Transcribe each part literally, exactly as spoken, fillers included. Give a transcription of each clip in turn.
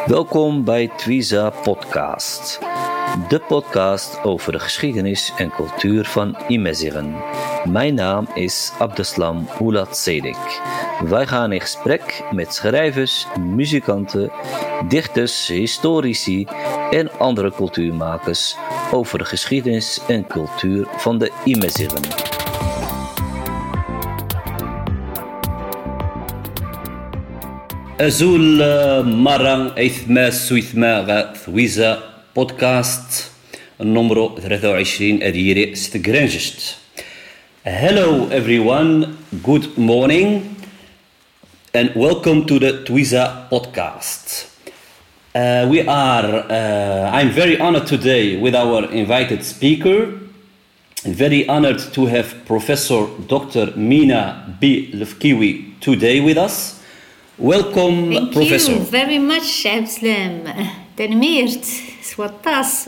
Welkom bij Twiza Podcast, de podcast over de geschiedenis en cultuur van Imazighen. Mijn naam is Abdeslam Oulat Sedik. Wij gaan in gesprek met schrijvers, muzikanten, dichters, historici en andere cultuurmakers over de geschiedenis en cultuur van de Imazighen. أزول مرة إثما سويثما ثويزا بودكاست النمرو ثلاثة وعشرين أديري ستجرنجشت. Hello everyone, good morning and welcome to the Twiza podcast. Uh, we are, uh, I'm very honored today with our invited speaker. Very honored to have Professor Doctor Mina B. Lefkiwi today with us. Welcome, Thank Professor. Thank you very much, Abdeslam. Tenmeert, Swatas.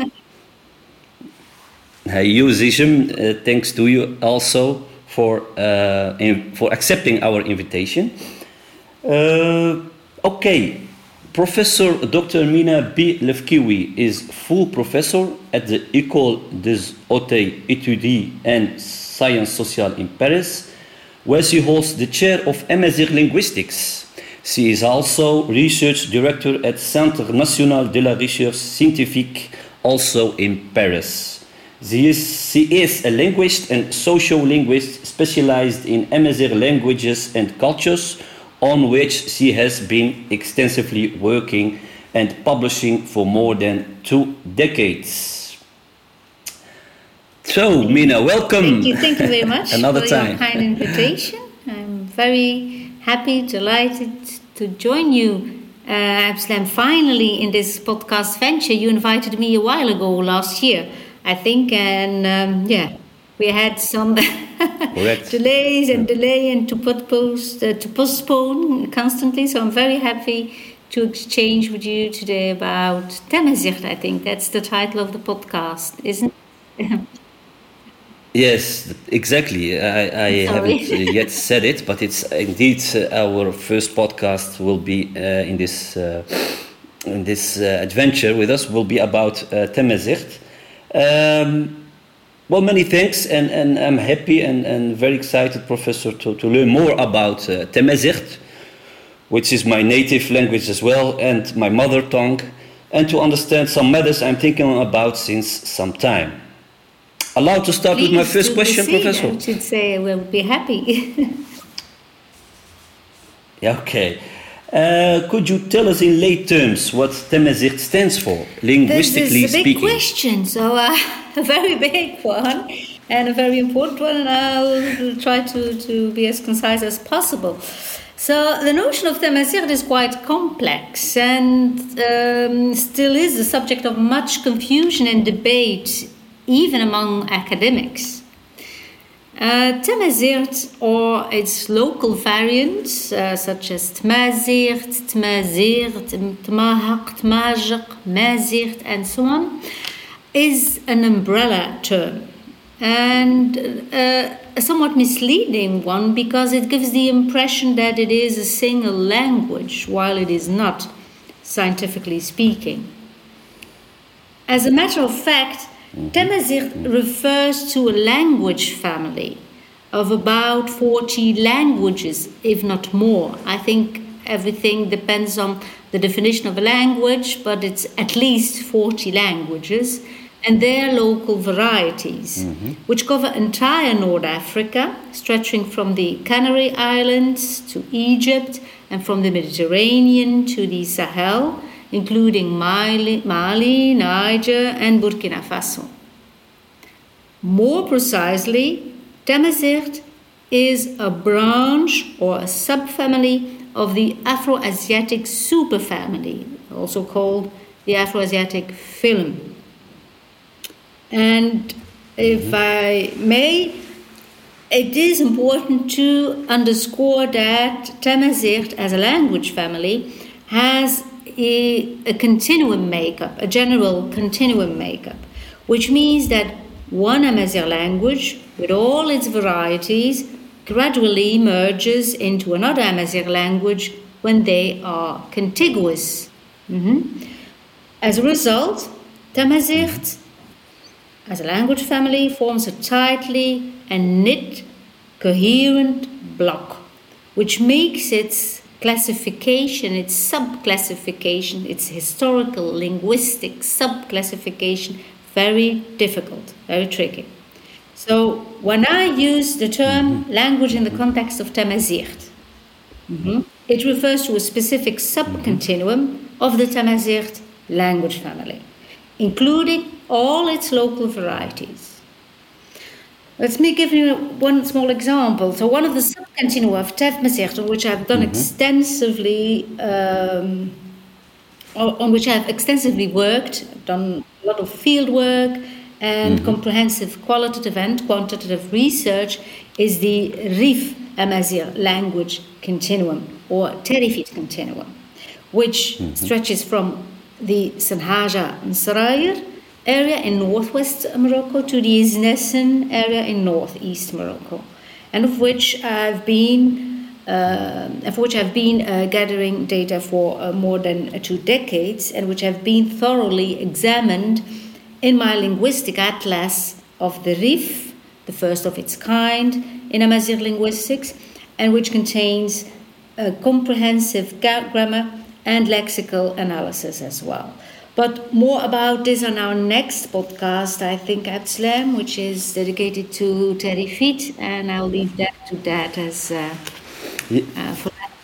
Hey, you, Zisham, uh, thanks to you also for uh, in, for accepting our invitation. Uh, okay, Professor Doctor Mina B. Lefkiwi is full professor at the École des Hautes Études and Sciences Sociales in Paris, where she holds the chair of Amazigh Linguistics. She is also research director at Centre National de la Recherche Scientifique, also in Paris. She is, she is a linguist and social linguist specialized in Amazigh languages and cultures, on which she has been extensively working and publishing for more than two decades. So, Mina, welcome. Thank you, thank you very much Another for time. your kind invitation. I'm very happy, delighted to join you, uh, Abdeslam, finally in this podcast venture. You invited me a while ago last year, I think, and um, yeah, we had some delays and delay and to put post uh, to postpone constantly. So I'm very happy to exchange with you today about Tamazight. I think that's the title of the podcast, isn't it? Yes, exactly. I, I haven't yet said it, but it's indeed uh, our first podcast will be uh, in this uh, in this uh, adventure with us will be about uh, Tamazight. Um, well, many thanks, and, and I'm happy and, and very excited, Professor, to, to learn more about uh, Tamazight, which is my native language as well and my mother tongue, and to understand some matters I'm thinking about since some time. Allowed to start Please with my first question, proceed. Professor? I should say we'll be happy. Yeah, okay. Uh, could you tell us in lay terms what Tamazight stands for, linguistically this is a big speaking? question, so uh, a very big one and a very important one, and I'll try to, to be as concise as possible. So the notion of Tamazight is quite complex and um, still is the subject of much confusion and debate, even among academics. Uh, Tamazight or its local variants, uh, such as Tmazight, Tmazirt, Tmahaq, Tmajiq, Mazirt, and so on, is an umbrella term and uh, a somewhat misleading one because it gives the impression that it is a single language, while it is not, scientifically speaking. As a matter of fact, Tamazight refers to a language family of about forty languages, if not more. I think everything depends on the definition of a language, but it's at least forty languages and their local varieties, mm-hmm. which cover entire North Africa, stretching from the Canary Islands to Egypt and from the Mediterranean to the Sahel, including Mali, Mali, Niger, and Burkina Faso. More precisely, Tamazight is a branch or a subfamily of the Afro-Asiatic superfamily, also called the Afro-Asiatic film. And if mm-hmm. I may, it is important to underscore that Tamazight as a language family has A, a continuum makeup, a general continuum makeup, which means that one Amazigh language, with all its varieties, gradually merges into another Amazigh language when they are contiguous Mhm. As a result, Tamazight, as a language family, forms a tightly and knit, coherent block, which makes its classification, its sub-classification, its historical linguistic sub-classification very difficult, very tricky. So when I use the term language in the context of Tamazight, mm-hmm, it refers to a specific subcontinuum of the Tamazight language family, including all its local varieties. Let me give you one small example. So one of the subcontinua of Tamazight, on which I've done mm-hmm. extensively, um, on which I've extensively worked, I've done a lot of field work and mm-hmm. comprehensive qualitative and quantitative research, is the Rif Amazigh language continuum, or Terifit continuum, which mm-hmm. stretches from the Sanhaja and Sarayr area in northwest Morocco to the Isnessen area in northeast Morocco, and of which I've been, uh, of which I've been uh, gathering data for uh, more than uh, two decades, and which have been thoroughly examined in my linguistic atlas of the Rif, the first of its kind in Amazigh linguistics, and which contains a comprehensive grammar and lexical analysis as well. But more about this on our next podcast, I think, Abdeslam, which is dedicated to Terifit, and I'll leave that to that as uh, yeah. uh, for that.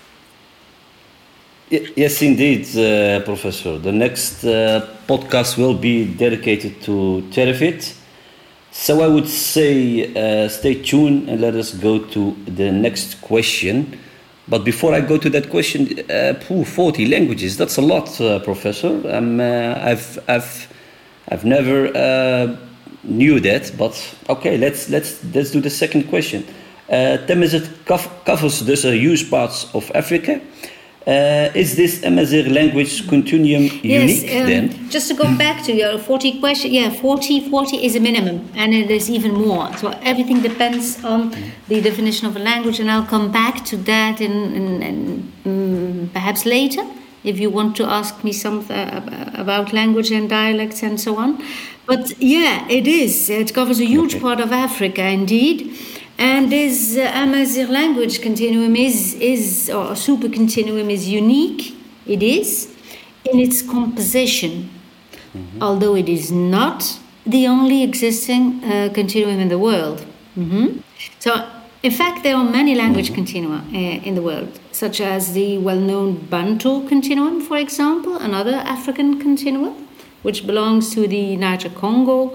Yes, indeed, uh, Professor. The next uh, podcast will be dedicated to Terifit. So I would say uh, stay tuned and let us go to the next question. But before I go to that question, uh, forty languages, that's a lot, uh, Professor. Um, uh, I've, I've, I've never uh, knew that, but okay, let's, let's, let's do the second question. Uh, Tamazight covers thus a huge parts of Africa. Uh, is this Amazigh language continuum unique yes, um, then? Just to go back to your forty question, yeah, forty, forty is a minimum, and it is even more. So everything depends on the definition of a language, and I'll come back to that in, in, in um, perhaps later, if you want to ask me something about language and dialects and so on. But yeah, it is. It covers a huge okay. part of Africa, indeed. And this uh, Amazigh language continuum is, is, or super continuum is unique. It is in its composition, mm-hmm. although it is not the only existing uh, continuum in the world. Mm-hmm. So, in fact, there are many language mm-hmm. continua uh, in the world, such as the well-known Bantu continuum, for example, another African continuum, which belongs to the Niger-Congo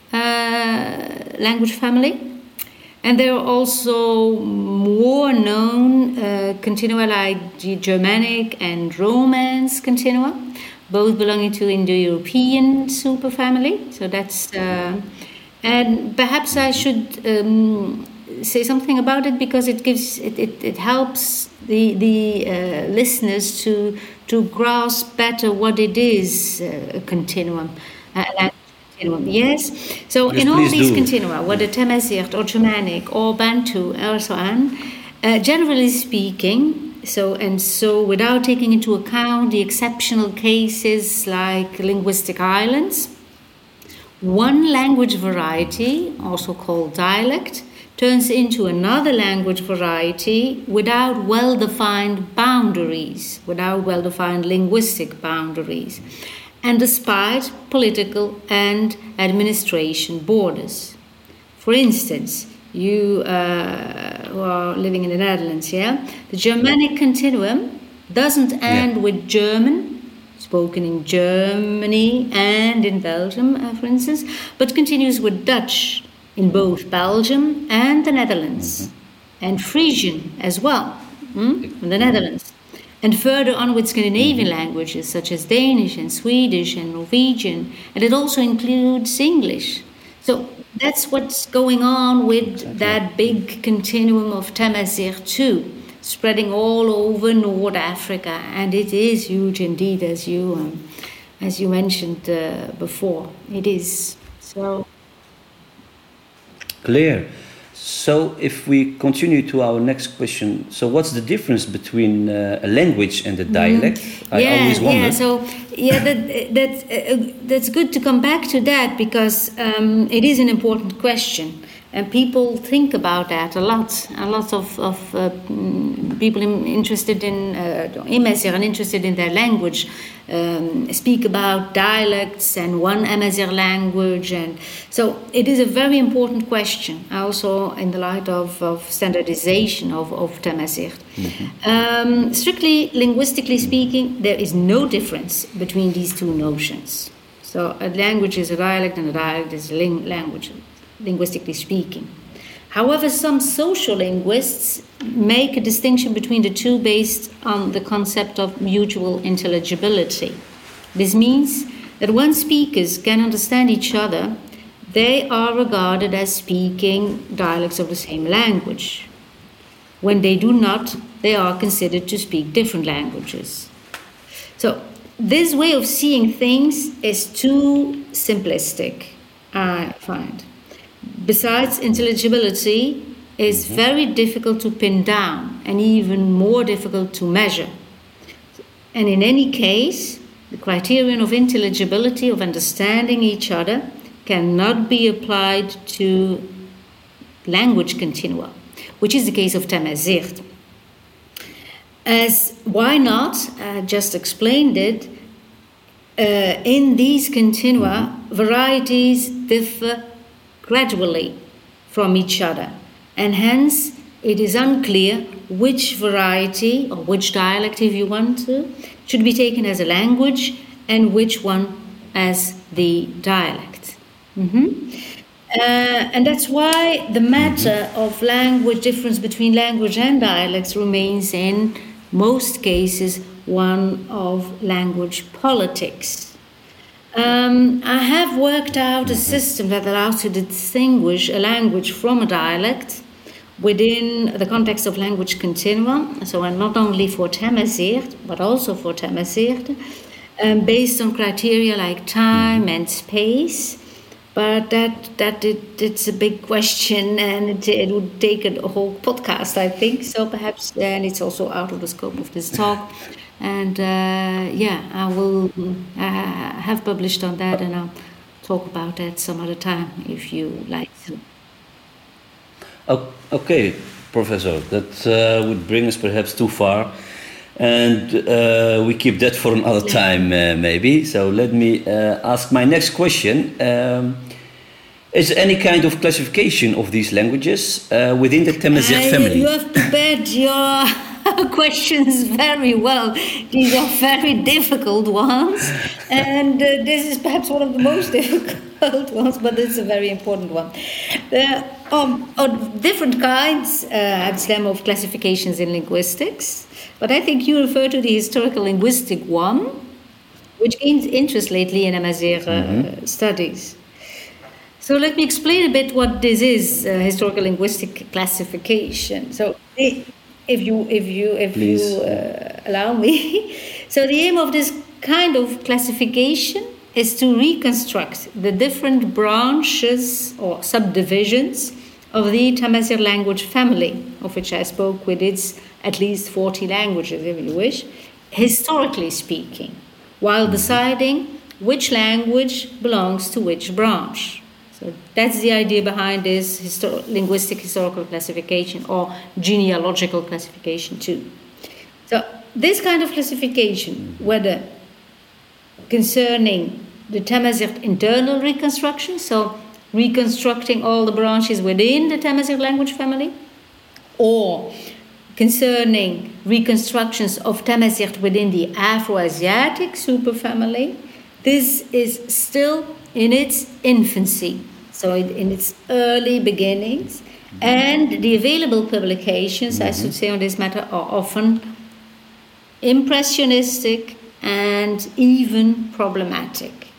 uh, language family. And there are also more known uh, continua like the Germanic and Romance continua, both belonging to Indo-European superfamily. So that's, uh, and perhaps I should um, say something about it because it gives, it, it, it helps the the uh, listeners to to grasp better what it is, uh, a continuum. Uh, Yes, so yes, in all these do. continua, whether Tamazight or Germanic or Bantu or so on, uh, generally speaking, so and so without taking into account the exceptional cases like linguistic islands, one language variety, also called dialect, turns into another language variety without well-defined boundaries, without well-defined linguistic boundaries, and despite political and administration borders. For instance, you uh, who are living in the Netherlands, yeah, the Germanic continuum doesn't end yeah. with German, spoken in Germany and in Belgium, uh, for instance, but continues with Dutch in both Belgium and the Netherlands, mm-hmm. and Frisian as well, mm, in the Netherlands. And further on with Scandinavian languages such as Danish and Swedish and Norwegian, and it also includes English. So that's what's going on with exactly. that big continuum of Tamazight too, spreading all over North Africa, and it is huge indeed, as you um, as you mentioned uh, before. It is so clear. So if we continue to our next question, so what's the difference between uh, a language and a dialect? Mm. I yeah, always wonder. Yeah, so yeah, that, that, uh, that's good to come back to that because um, it is an important question. And people think about that a lot. A lot of, of uh, people interested in uh, Amazigh and interested in their language um, speak about dialects and one Amazigh language. And so it is a very important question, also in the light of, of standardization of, of Tamazight. Mm-hmm. Um, strictly linguistically speaking, there is no difference between these two notions. So a language is a dialect and a dialect is a ling- language. Linguistically speaking. However, some social linguists make a distinction between the two based on the concept of mutual intelligibility. This means that when speakers can understand each other, they are regarded as speaking dialects of the same language. When they do not, they are considered to speak different languages. So, this way of seeing things is too simplistic, I find. Besides, intelligibility is mm-hmm. very difficult to pin down and even more difficult to measure. And in any case, the criterion of intelligibility, of understanding each other, cannot be applied to language continua, which is the case of Tamazight. As why not, I just explained it, uh, in these continua, mm-hmm. varieties differ gradually from each other, and hence it is unclear which variety, or which dialect if you want to, should be taken as a language and which one as the dialect. Mm-hmm. Uh, and that's why the matter of language difference between language and dialects remains in most cases one of language politics. Um, I have worked out a system that allows to distinguish a language from a dialect within the context of language continuum, so and not only for Tamazight, but also for Tamazight, um, based on criteria like time and space. But that that it, it's a big question, and it, it would take a whole podcast, I think. So perhaps, and it's also out of the scope of this talk. And uh, yeah, I will uh, have published on that, and I'll talk about that some other time if you like to. Okay, Professor, that uh, would bring us perhaps too far, and uh, we keep that for another time, uh, maybe. So let me uh, ask my next question. Um, is there any kind of classification of these languages uh, within the Tamazight uh, family? You have prepared your questions very well. These are very difficult ones, and uh, this is perhaps one of the most difficult ones, but it's a very important one. There are, are different kinds uh, of classifications in linguistics, but I think you refer to the historical linguistic one, which gained interest lately in Amazigh uh, mm-hmm. studies. So let me explain a bit what this is, uh, historical linguistic classification. So the If you, if you, if Please. you uh, allow me. So the aim of this kind of classification is to reconstruct the different branches or subdivisions of the Tamazight language family, of which I spoke, with its at least forty languages, if you wish, historically speaking, while deciding which language belongs to which branch. So that's the idea behind this histor- linguistic historical classification, or genealogical classification too. So this kind of classification, whether concerning the Tamazight internal reconstruction, so reconstructing all the branches within the Tamazight language family, or concerning reconstructions of Tamazight within the Afro-Asiatic superfamily, this is still in its infancy, so in its early beginnings, and the available publications, mm-hmm. I should say, on this matter are often impressionistic and even problematic.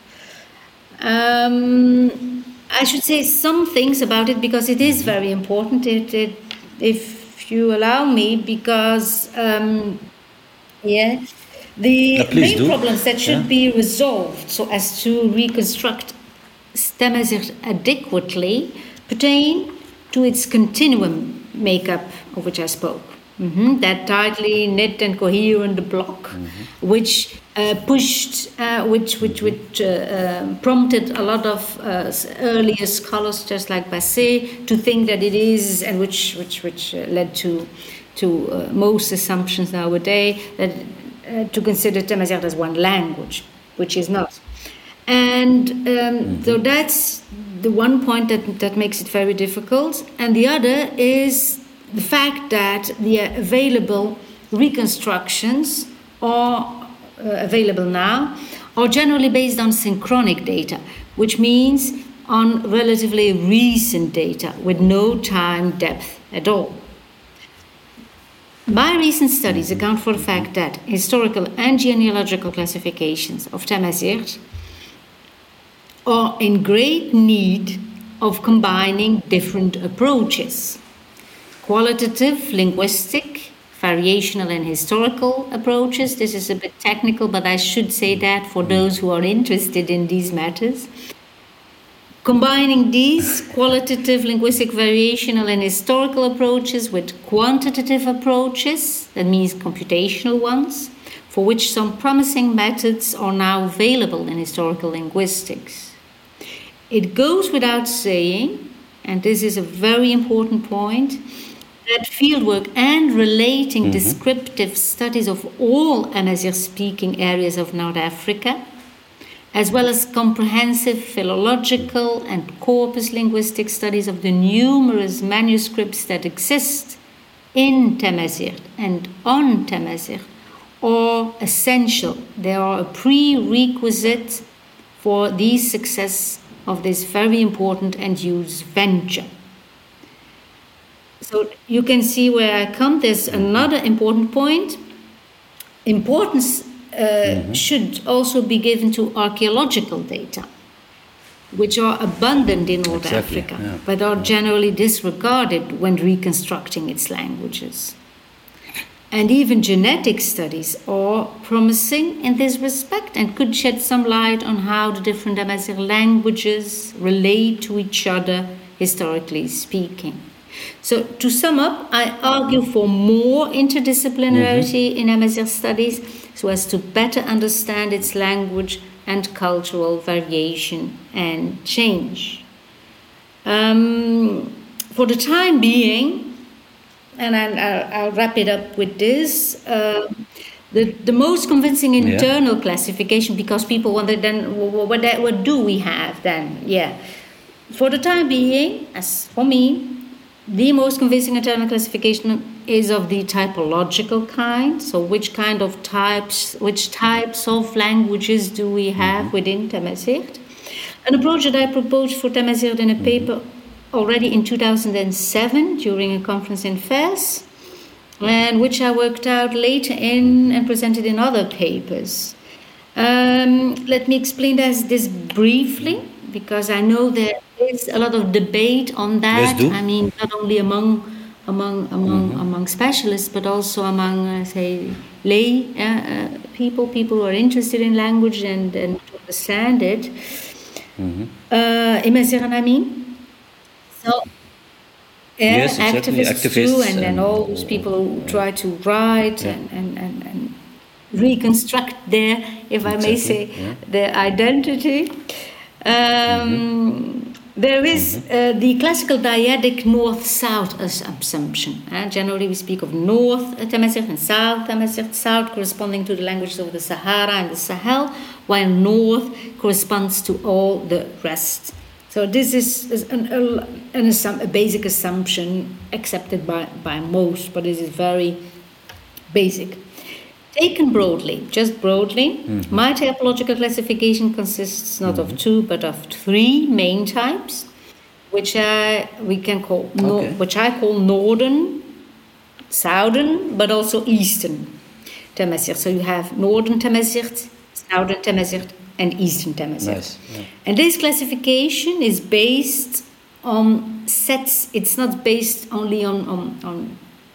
Um, I should say some things about it because it is very important, it, it, if you allow me, because um, yeah, the uh, main do. problems that should yeah. be resolved so as to reconstruct Tamazight adequately pertain to its continuum makeup of which I spoke. Mm-hmm. That tightly knit and coherent block, mm-hmm. which uh, pushed, uh, which which which uh, uh, prompted a lot of uh, earlier scholars, just like Basset, to think that it is, and which which which uh, led to to uh, most assumptions nowadays that uh, to consider Tamazight as one language, which is not. And um, mm-hmm. so that's the one point that that makes it very difficult, and the other is the fact that the available reconstructions are uh, available now are generally based on synchronic data, which means on relatively recent data with no time depth at all. My recent studies account for the fact that historical and genealogical classifications of Tamazight are in great need of combining different approaches. Qualitative, linguistic, variational and historical approaches. This is a bit technical, but I should say that for those who are interested in these matters. Combining these qualitative, linguistic, variational and historical approaches with quantitative approaches, that means computational ones, for which some promising methods are now available in historical linguistics. It goes without saying, and this is a very important point, that fieldwork and relating mm-hmm. descriptive studies of all Amazigh-speaking areas of North Africa, as well as comprehensive philological and corpus linguistic studies of the numerous manuscripts that exist in Tamazight and on Tamazight, are essential. They are a prerequisite for the success of this very important and huge venture. So you can see where I come. There's another important point. Importance uh, mm-hmm. should also be given to archaeological data, which are abundant in North exactly, Africa, yeah. but are generally disregarded when reconstructing its languages. And even genetic studies are promising in this respect and could shed some light on how the different Amazigh languages relate to each other, historically speaking. So, to sum up, I argue for more interdisciplinarity mm-hmm. in Amazigh studies so as to better understand its language and cultural variation and change. Um, for the time being, and I'll, I'll wrap it up with this, uh, the, the most convincing internal yeah. classification, because people wonder then, what, what, what do we have then? Yeah. For the time being, as for me, the most convincing internal classification is of the typological kind. So which kind of types, which types of languages do we have mm-hmm. within Tamazight? An approach that I proposed for Tamazight in a paper mm-hmm. already in two thousand seven during a conference in Fez, and which I worked out later in and presented in other papers. Um, let me explain this, this briefly, because I know there is a lot of debate on that. I mean, not only among among among mm-hmm. among specialists, but also among, uh, say, lay uh, uh, people, people who are interested in language and, and to understand it. Mm-hmm. Uh, Imaziran, I mean. So, uh, yes, exactly. activists, activists too, and, and, and all those people who try to write yeah. and, and, and, and reconstruct their, if exactly. I may say, yeah. their identity. Um, mm-hmm. There is uh, the classical dyadic north-south assumption. Uh, generally, we speak of North Tamazight and South Tamazight, South corresponding to the languages of the Sahara and the Sahel, while North corresponds to all the rest. So this is, is an, an assum- a basic assumption accepted by, by most, but this is very basic. Taken broadly, just broadly, mm-hmm. my typological classification consists not mm-hmm. of two, but of three main types, which I we can call okay. no, which I call northern, southern, but also eastern Tamazight. So you have northern Tamazight, southern Tamazight, and eastern Tamazight. Nice. Yeah. And this classification is based on sets. It's not based only on on, on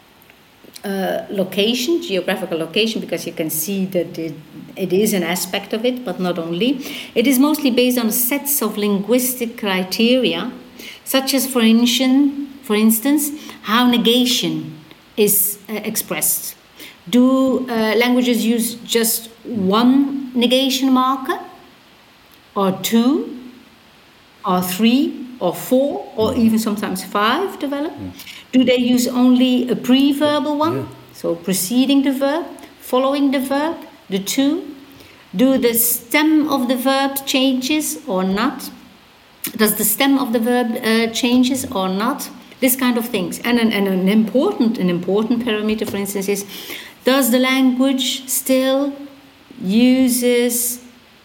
Uh, location, geographical location, because you can see that it, it is an aspect of it, but not only. It is mostly based on sets of linguistic criteria, such as, for instance, for instance, how negation is uh, expressed. Do uh, languages use just one negation marker, or two, or three, or four, or even sometimes five develop? Mm. Do they use only a pre-verbal one, yeah. so preceding the verb, following the verb, the to? Do the stem of the verb changes or not? Does the stem of the verb uh, changes or not? This kind of things. And an, and an important an important parameter, for instance, is does the language still uses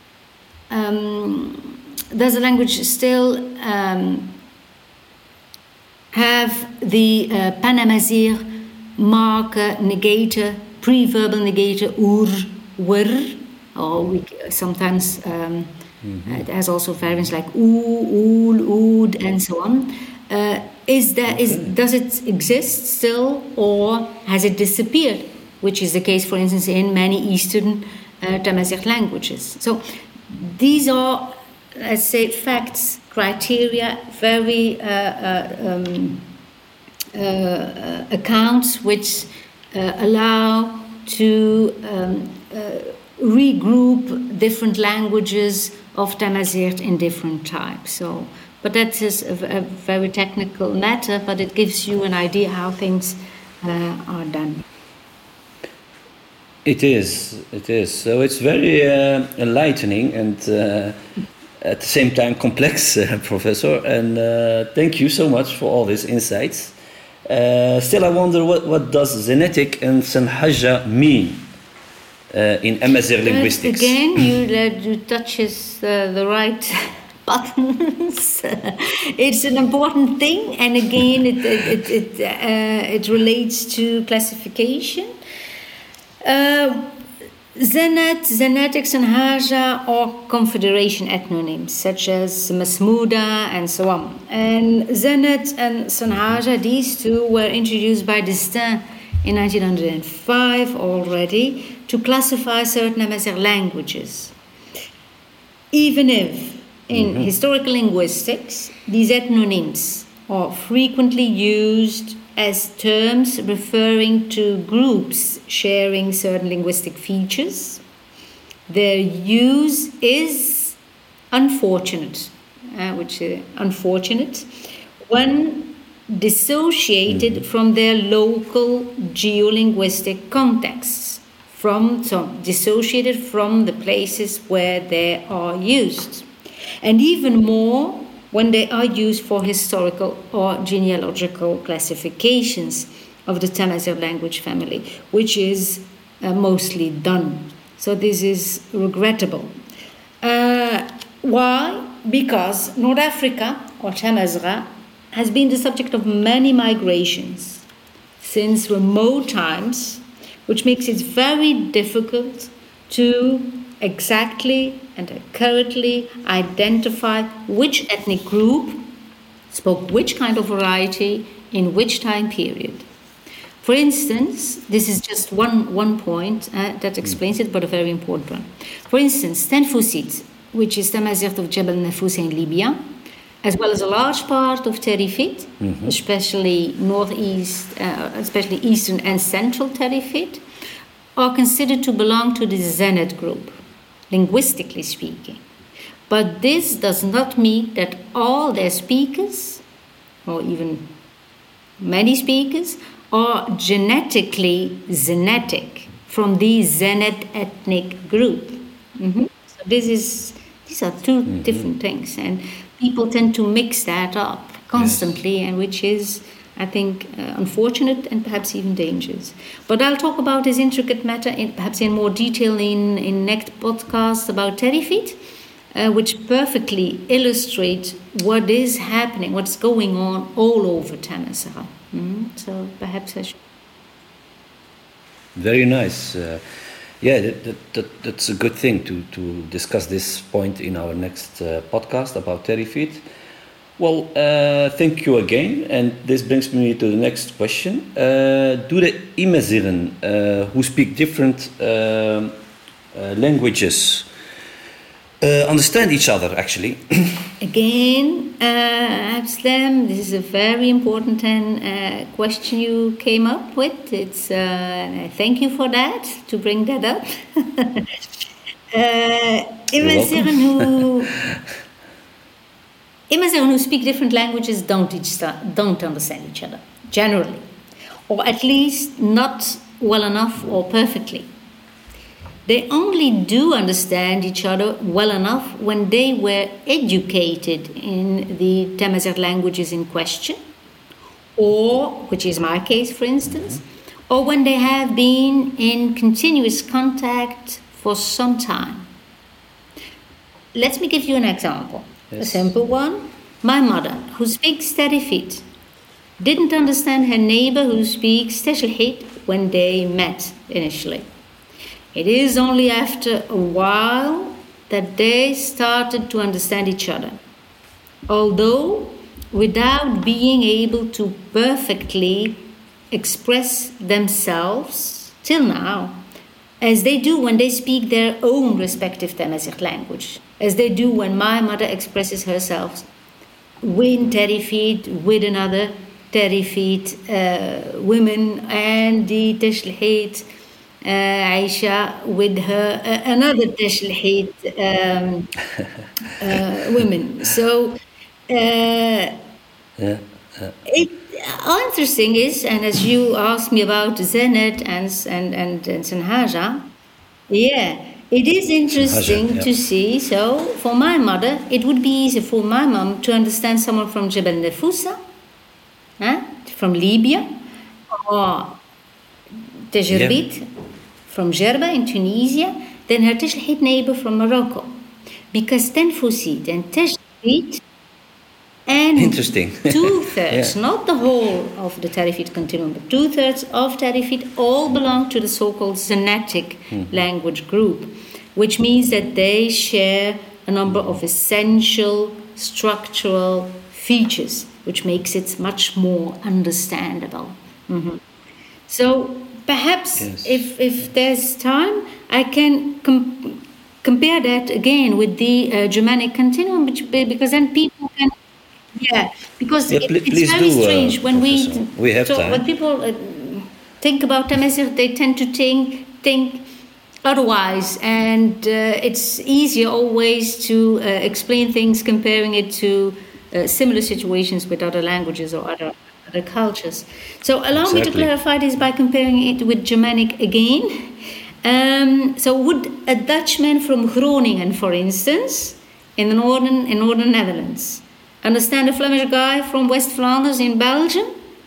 um, does the language still um, have the uh, Panamazigh marker negator, pre-verbal negator, ur, were, or we sometimes um, mm-hmm. it has also variants like oo, ool, ood, and so on. Uh, is that okay. is does it exist still, or has it disappeared? Which is the case, for instance, in many Eastern uh, Tamazight languages. So these are, let's say, facts, criteria, very uh, uh, um, uh, accounts which uh, allow to um, uh, regroup different languages of Tamazight in different types. So, but that is a, a very technical matter, but it gives you an idea how things uh, are done. It is, it is. So it's very uh, enlightening and uh, at the same time complex, uh, Professor. And uh, thank you so much for all these insights. Uh, still, I wonder what, what does Zenetic and Sanhaja mean uh, in Amazigh linguistics? Again, you, uh, you touches uh, the right buttons. It's an important thing, and again, it it it, it, uh, it relates to classification. Uh, Zenet, Zenetics and Haja are confederation ethnonyms, such as Masmouda and so on. And Zenet and Sanhaja, these two were introduced by Destin in nineteen oh five already to classify certain Amazigh languages. Even if in mm-hmm. historical linguistics, these ethnonyms are frequently used as terms referring to groups sharing certain linguistic features, their use is unfortunate, uh, which is unfortunate, when dissociated mm-hmm. from their local geolinguistic contexts, from so dissociated from the places where they are used, and even more when they are used for historical or genealogical classifications of the Tamazight language family, which is uh, mostly done. So this is regrettable. Uh, why? Because North Africa, or Tamazight, has been the subject of many migrations since remote times, which makes it very difficult to exactly and accurately identify which ethnic group spoke which kind of variety in which time period. For instance, this is just one, one point uh, that explains it, but a very important one. For instance, Tenfusit, which is Tamazight of Jebel Nafus in Libya, as well as a large part of Terifit, mm-hmm. especially northeast, uh, especially eastern and central Terifit, are considered to belong to the Zenet group, linguistically speaking. But this does not mean that all their speakers, or even many speakers, are genetically Zenetic from the Zenet ethnic group. Mm-hmm. So this is these are two mm-hmm. different things, and people tend to mix that up constantly, yes. and which is, I think, uh, unfortunate and perhaps even dangerous. But I'll talk about this intricate matter in, perhaps in more detail in, in next podcast about Terifit, uh, which perfectly illustrate what is happening, what's going on all over Tamazight. Mm-hmm. So perhaps I should. Very nice. Uh, yeah, that, that, that, that's a good thing to, to discuss this point in our next uh, podcast about Terifit. Well, uh, thank you again, and this brings me to the next question. Uh, do the Imazighen uh, who speak different uh, uh, languages Uh, understand each other, actually. Again, uh, Abslam, this is a very important and, uh, question you came up with. It's uh, thank you for that, to bring that up. uh, Imazighen who Imazighen who speak different languages don't each don't understand each other generally, or at least not well enough or perfectly. They only do understand each other well enough when they were educated in the Tamazight languages in question, or, which is my case for instance, or when they have been in continuous contact for some time. Let me give you an example, yes. A simple one. My mother, who speaks Tarifit, didn't understand her neighbor who speaks Tejlhit when they met initially. It is only after a while that they started to understand each other, although without being able to perfectly express themselves till now, as they do when they speak their own respective Tamazight language, as they do when my mother expresses herself with Tarifit, with another Tarifit uh, women, and the Tejlhit Uh, Aisha with her uh, another Tejlhit um, uh, women. So uh, yeah, yeah. It uh, interesting is, and as you asked me about Zenet and and and, and Sanhaja, yeah, it is interesting Sanhaja, yeah. to see. So for my mother, it would be easy for my mom to understand someone from Jebel Nefousa, huh? From Libya, or Tejerbit. Yeah. From Jerba in Tunisia, then her Tejlhit neighbor from Morocco. Because Tenfusit and Tejlhit and Interesting. two-thirds, yeah. not the whole of the Tarifit continuum, but two-thirds of Tarifit all belong to the so-called Zenetic mm-hmm. language group, which means that they share a number of essential structural features, which makes it much more understandable. Mm-hmm. So perhaps yes. if, if there's time, I can com- compare that again with the uh, Germanic continuum, which, because then people can, yeah, because yeah, it, pl- it's very do, strange uh, when we, we have so time. when people uh, think about Tamazight, they tend to think think otherwise, and uh, it's easier always to uh, explain things comparing it to uh, similar situations with other languages or other. The cultures. So allow exactly. me to clarify this by comparing it with Germanic again. Um, so would a Dutchman from Groningen, for instance, in the northern in northern Netherlands, understand a Flemish guy from West Flanders in Belgium?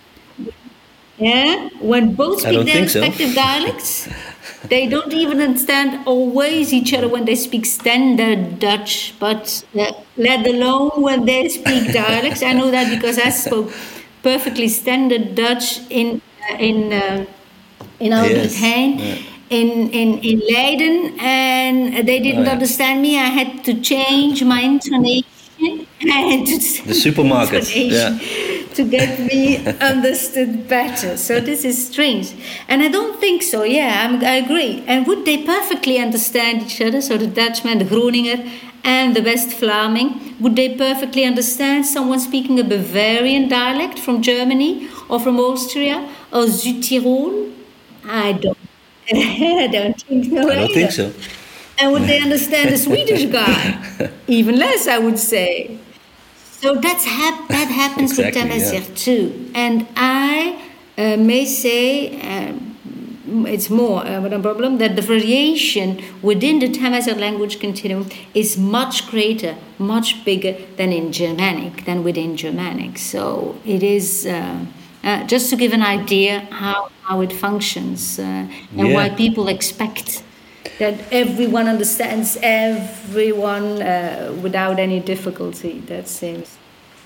Yeah, when both speak their respective so. dialects, they don't even understand always each other when they speak standard Dutch, but uh, let alone when they speak dialects. I know that because I spoke perfectly standard Dutch in uh, in uh, in Albert-Heijn, yes. yeah. in, in in Leiden, and they didn't oh, yeah. understand me. I had to change my intonation and to the supermarket yeah. to get me understood better. So this is strange, and I don't think so. Yeah, I'm, I agree. And would they perfectly understand each other? So the Dutchman, the Groninger, and the West Vlaming, would they perfectly understand someone speaking a Bavarian dialect from Germany or from Austria or Südtirol? I don't. I don't think so. I don't either. think so. And would they understand a Swedish guy? Even less, I would say. So that's hap- that happens exactly, with Tamazight yeah. too. And I uh, may say. Um, It's more uh, a problem that the variation within the Tamazight language continuum is much greater, much bigger than in Germanic, than within Germanic. So it is uh, uh, just to give an idea how, how it functions uh, and yeah. why people expect that everyone understands everyone uh, without any difficulty, that seems.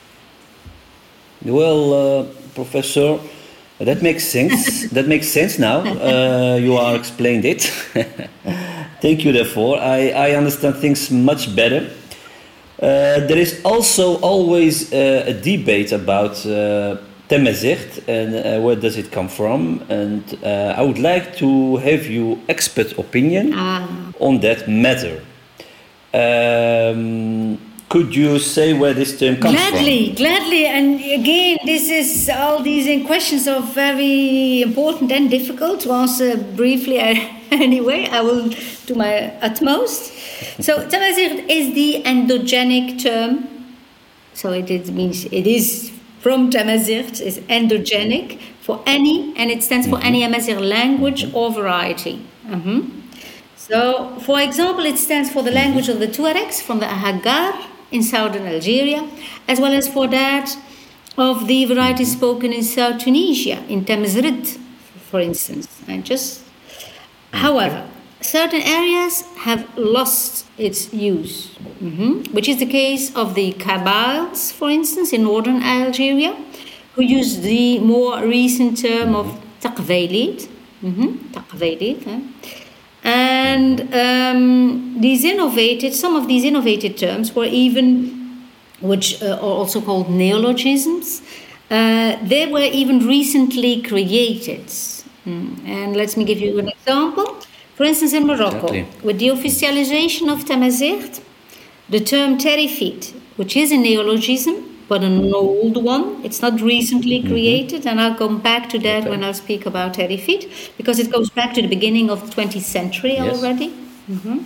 Well, uh, Professor, that makes sense. That makes sense now. Uh, you are explained it. Thank you. Therefore, I, I understand things much better. Uh, there is also always uh, a debate about uh, Tamazight and uh, where does it come from. And uh, I would like to have your expert opinion ah. on that matter. Um, could you say where this term comes gladly, from? Gladly, and again, this is all these questions are very important and difficult to answer briefly. Anyway, I will do my utmost. So, Tamazight is the endogenic term. So it is, means it is from Tamazight, is endogenic for any, and it stands for mm-hmm. any Amazigh language mm-hmm. or variety. Mm-hmm. So, for example, it stands for the language of the Tuaregs from the Ahaggar in southern Algeria, as well as for that of the varieties spoken in South Tunisia, in Tamazrid, for instance. And just, okay. However, certain areas have lost its use, mm-hmm. which is the case of the Kabyles, for instance, in northern Algeria, who use the more recent term of Taqvaylid, mm-hmm. Taqvaylid, eh? And um, these innovated, some of these innovated terms were even, which uh, are also called neologisms, uh, they were even recently created. Mm. And let me give you an example. For instance, in Morocco, exactly. with the officialization of Tamazight, the term terifit, which is a neologism, but an old one, it's not recently created, mm-hmm. and I'll come back to that okay. when I'll speak about terifit, because it goes back to the beginning of the twentieth century yes. already. Mm-hmm.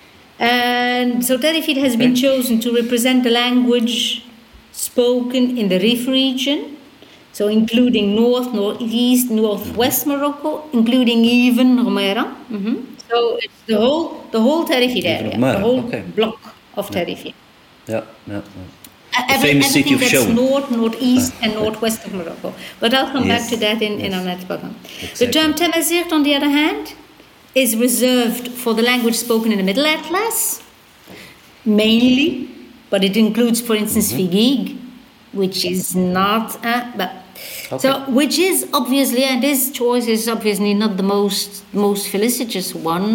And so terifit has okay. been chosen to represent the language spoken in the Rif region, so including north, northeast, northwest Morocco, including even Ghomara. Mm-hmm. So it's the whole the whole Terifit area, the whole okay. block of Terifit. Yeah, yeah. yeah. Uh, every, famous city of that's north, northeast, uh, and northwest of Morocco. But I'll come yes. back to that in, yes. in our next program. Exactly. The term Tamazight, on the other hand, is reserved for the language spoken in the Middle Atlas, mainly, but it includes, for instance, mm-hmm. Figig, which is not, uh, but okay. so which is obviously, and this choice is obviously not the most most felicitous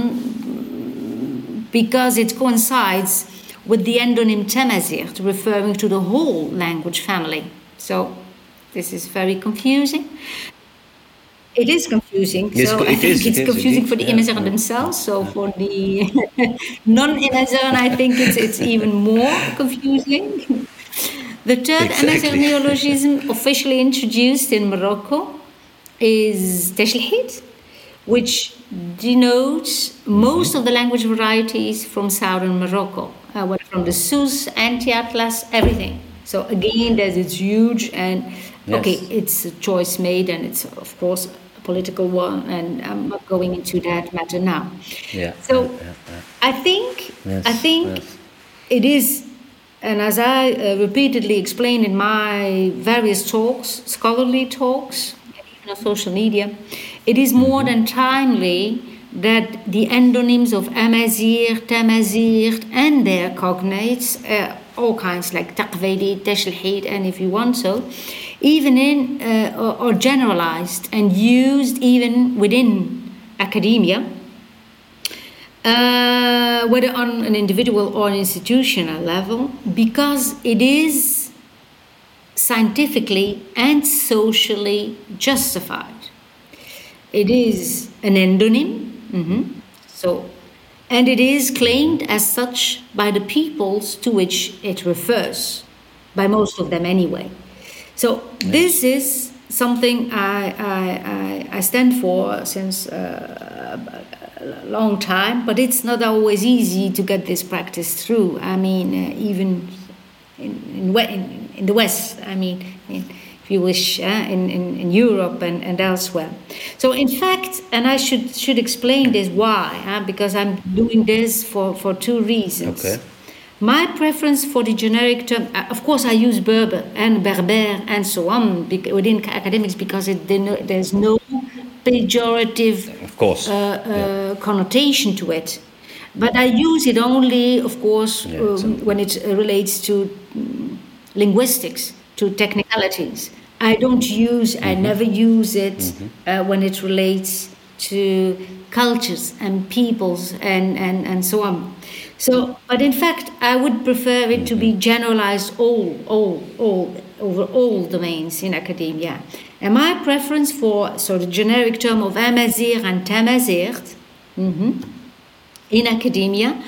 one, because it coincides with the endonym Tamazight, referring to the whole language family. So this is very confusing. It is confusing. Yes, so it I think is, it's it confusing is, for the yeah, Imazigh yeah. themselves. So yeah. for the non-Imazigh, I think it's it's even more confusing. The third exactly. Amazigh neologism officially introduced in Morocco is Teshlhit, which denotes mm-hmm. most of the language varieties from southern Morocco, uh, whether from the Sus, Anti-Atlas, everything. So again, there's it's huge, and yes. okay, it's a choice made, and it's of course a political one, and I'm not going into that matter now. Yeah. So yeah, yeah, yeah. I think yes. I think yes. it is. And as I uh, repeatedly explained in my various talks, scholarly talks, and even on social media, it is more mm-hmm. than timely that the endonyms of Amazigh, Tamazight, and their cognates, uh, all kinds like Taqvaylid, Teshlhit, and if you want so, even in uh, or, or generalized and used even within academia. Uh, whether on an individual or an institutional level, because it is scientifically and socially justified. It is an endonym, mm-hmm. so, and it is claimed as such by the peoples to which it refers, by most of them anyway. So yes. this is something I, I, I, I stand for since uh, a long time, but it's not always easy to get this practice through. I mean, uh, even in, in, in, in the West, I mean, in, if you wish, uh, in, in, in Europe and, and elsewhere. So in fact, and I should should explain this why, uh, because I'm doing this for, for two reasons. Okay. My preference for the generic term, of course, I use Berber and Berber and so on within academics because it, there's no pejorative of course. Uh, uh, yeah. connotation to it. But I use it only, of course, yeah, um, when it relates to um, linguistics, to technicalities. I don't use, mm-hmm. I never use it mm-hmm. uh, when it relates to cultures and peoples and, and, and so on. So, but in fact, I would prefer it to be generalized all, all, all, over all domains in academia. And my preference for, so the generic term of Amazigh and Tamazight mm-hmm, in academia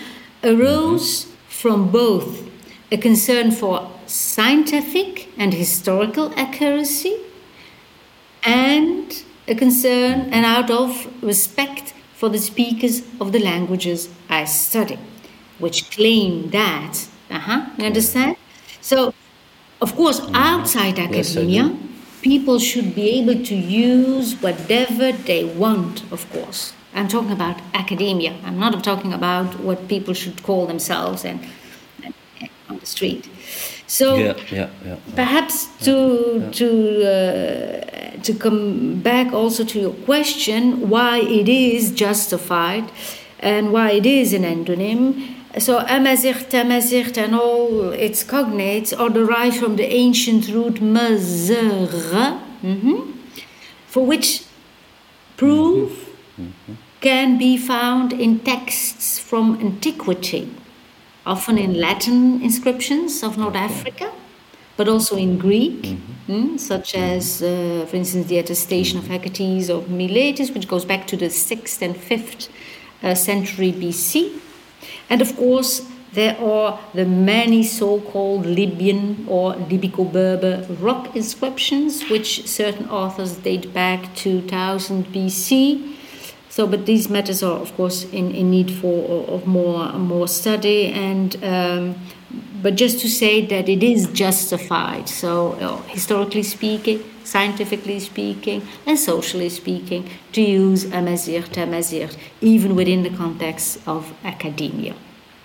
arose mm-hmm. from both a concern for scientific and historical accuracy and a concern and out of respect for the speakers of the languages I study, which claim that, uh-huh, you understand? So, of course, outside academia, yes, people should be able to use whatever they want, of course. I'm talking about academia. I'm not talking about what people should call themselves and, and, and on the street. So yeah, yeah, yeah. perhaps to yeah. to uh, to come back also to your question, why it is justified and why it is an endonym. So Amazight, Tamazight, and all its cognates are derived from the ancient root mazr, mm-hmm, for which proof mm-hmm. can be found in texts from antiquity, often in Latin inscriptions of North Africa, but also in Greek, mm-hmm. mm, such as, uh, for instance, the attestation of Hecates of Miletus, which goes back to the sixth and fifth uh, century B C. And of course, there are the many so-called Libyan or Libico-Berber rock inscriptions, which certain authors date back two thousand B C. So, but these matters are, of course, in, in need for of more more study. And um, but just to say that it is justified. So, uh, historically speaking, scientifically speaking, and socially speaking, to use Amazight, Tamazight, even within the context of academia.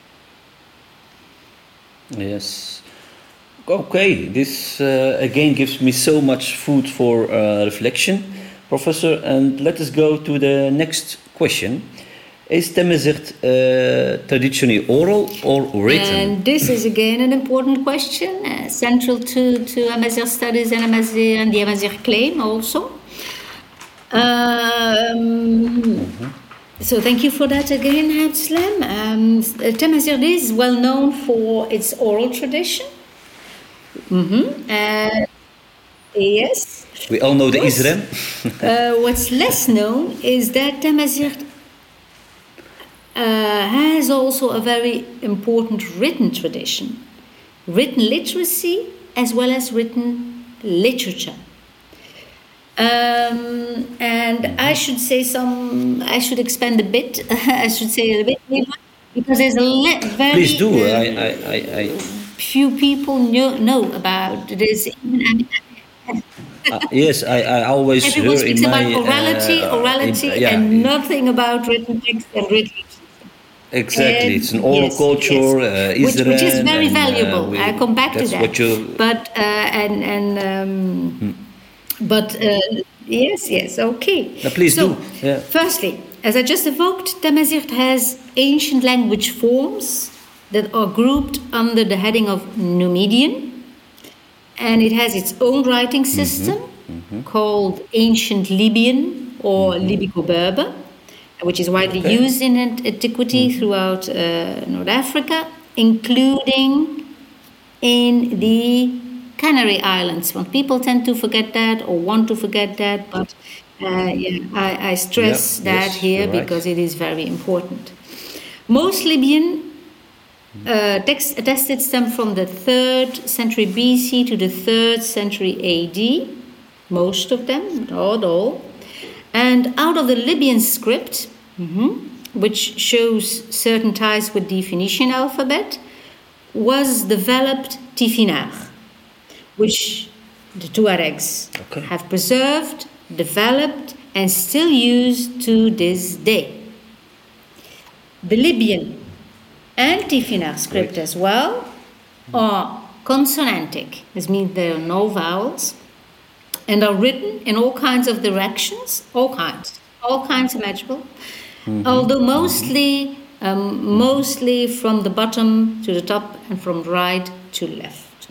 Yes. Okay. This uh, again gives me so much food for uh, reflection, Professor. And let us go to the next question. Is Tamazight uh, traditionally oral or written? And this is again an important question, uh, central to, to Amazigh studies and, Amazigh, and the Amazigh claim also. Um, mm-hmm. So thank you for that again, Abdeslam. Um, Tamazight is well known for its oral tradition. Mm-hmm. Uh, yes. We all know the Isra. uh, what's less known is that Tamazight Uh, has also a very important written tradition, written literacy as well as written literature. Um, and I should say some, I should expand a bit, I should say a bit more, because there's a le- very Please do. Uh, I, I, I, I... few people know, know about this. uh, yes, I, I always Everyone hear speaks in about my, orality, uh, orality, in, yeah, and nothing about written text and written. Exactly, And it's an oral yes, culture, yes. uh, which, which is very and, valuable. Uh, we, I come back to that. You... But uh, and and um, hmm. but uh, yes, yes, okay. No, please so, do. Yeah. Firstly, as I just evoked, Tamazight has ancient language forms that are grouped under the heading of Numidian, and it has its own writing system mm-hmm. Mm-hmm. called Ancient Libyan or mm-hmm. Libico-Berber, which is widely okay. used in antiquity mm. throughout uh, North Africa, including in the Canary Islands. Well, people tend to forget that or want to forget that, but uh, yeah, I, I stress yep. that yes, here because right. it is very important. Most Libyan uh, texts attested stem from the third century B C to the third century A D, most of them, not all. And out of the Libyan script, mm-hmm, which shows certain ties with the Phoenician alphabet, was developed Tifinagh, which the Tuaregs okay. have preserved, developed, and still use to this day. The Libyan and Tifinagh script as well are consonantic. This means there are no vowels, and are written in all kinds of directions, all kinds, all kinds imaginable, mm-hmm. although mostly, um, mostly from the bottom to the top and from right to left.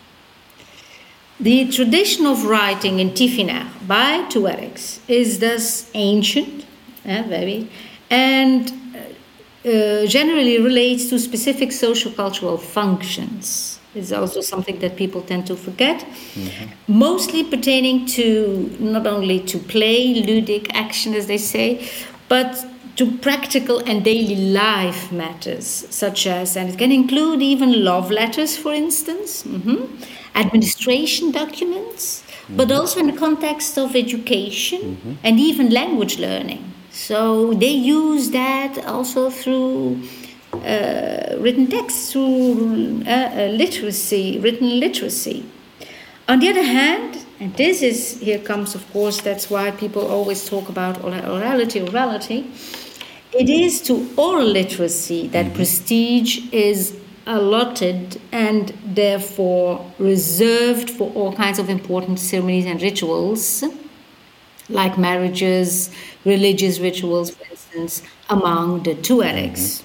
The tradition of writing in Tifinagh by Tuaregs is thus ancient, uh, very, and uh, generally relates to specific socio-cultural functions. Is also something that people tend to forget, mm-hmm. mostly pertaining to not only to play, ludic action, as they say, but to practical and daily life matters, such as, and it can include even love letters, for instance, mm-hmm, administration documents, mm-hmm. but also in the context of education mm-hmm. and even language learning. So they use that also through uh, written text, through uh, uh, literacy, written literacy. On the other hand, and this is, here comes, of course, that's why people always talk about orality, orality. It is to oral literacy that mm-hmm. prestige is allotted and therefore reserved for all kinds of important ceremonies and rituals, like marriages, religious rituals, for instance, among the Tuaregs. Mm-hmm.